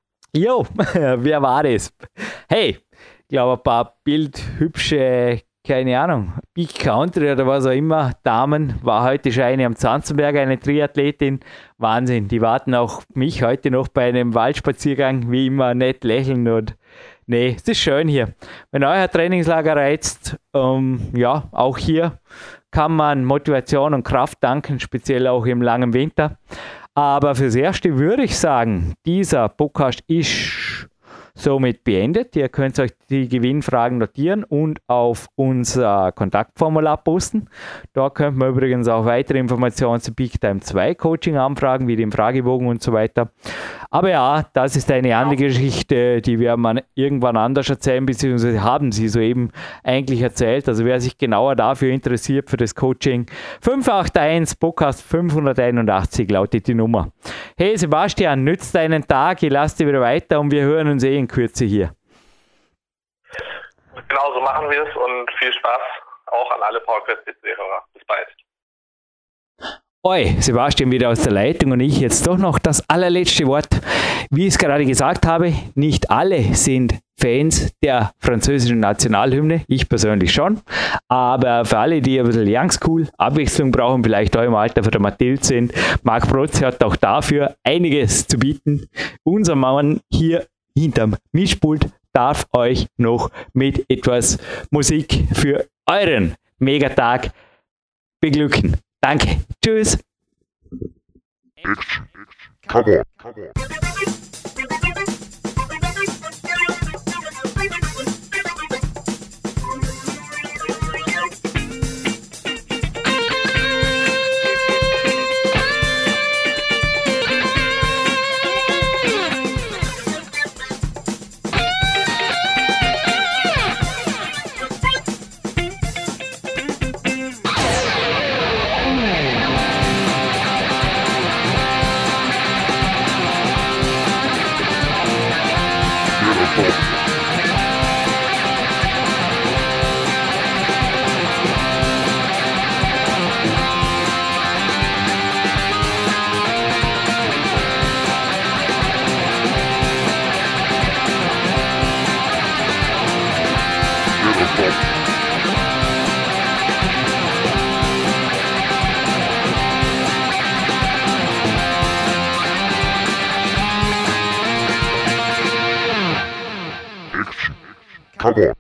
war das? Hey! Ich glaube, ein paar bildhübsche, keine Ahnung, Big Country oder was auch immer, Damen, war heute schon eine am Zanzenberg, eine Triathletin. Wahnsinn, die warten auch mich heute noch bei einem Waldspaziergang, wie immer nett lächeln und nee, es ist schön hier. Wenn euer Trainingslager reizt, auch hier kann man Motivation und Kraft tanken, speziell auch im langen Winter. Aber fürs Erste würde ich sagen, dieser Podcast ist somit beendet. Ihr könnt euch die Gewinnfragen notieren und auf unser Kontaktformular posten. Da könnt man übrigens auch weitere Informationen zu Peak Time 2 Coaching anfragen, wie den Fragebogen und so weiter. Aber ja, das ist eine andere Geschichte, die werden wir irgendwann anders erzählen, beziehungsweise haben sie soeben eigentlich erzählt. Also wer sich genauer dafür interessiert, für das Coaching, 581 Podcast 581 lautet die Nummer. Hey Sebastian, nützt deinen Tag, ich lasse dich wieder weiter und wir hören uns in Kürze hier. Genau so machen wir es und viel Spaß auch an alle PowerQuest-Hörer. Bis bald. Oi, Sebastian wieder aus der Leitung und ich jetzt doch noch das allerletzte Wort. Wie ich es gerade gesagt habe, nicht alle sind Fans der französischen Nationalhymne, ich persönlich schon, aber für alle, die ein bisschen youngschool, Abwechslung brauchen, vielleicht auch im Alter von der Mathilde sind, Marc Protze hat auch dafür einiges zu bieten. Unser Mann hier hinterm Mischpult darf euch noch mit etwas Musik für euren Megatag beglücken. Danke. Tschüss. Come on. Come on.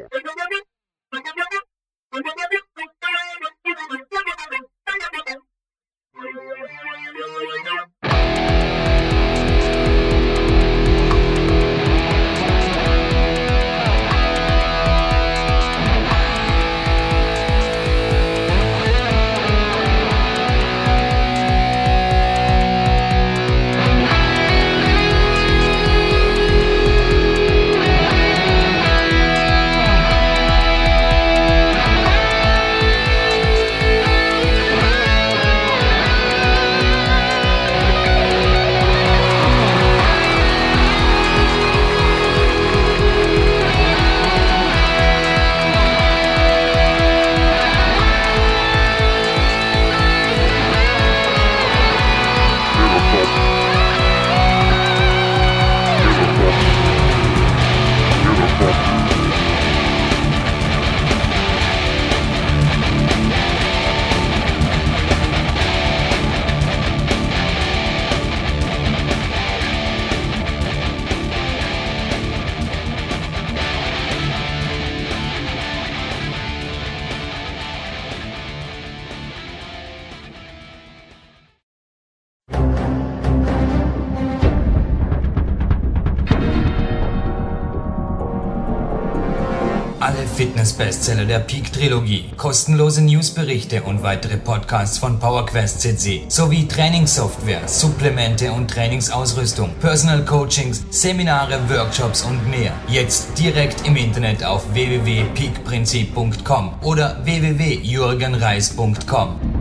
Alle Fitness-Bestseller der Peak-Trilogie, kostenlose Newsberichte und weitere Podcasts von PowerQuest CC sowie Trainingssoftware, Supplemente und Trainingsausrüstung, Personal Coachings, Seminare, Workshops und mehr. Jetzt direkt im Internet auf www.peakprinzip.com oder www.jürgenreis.com.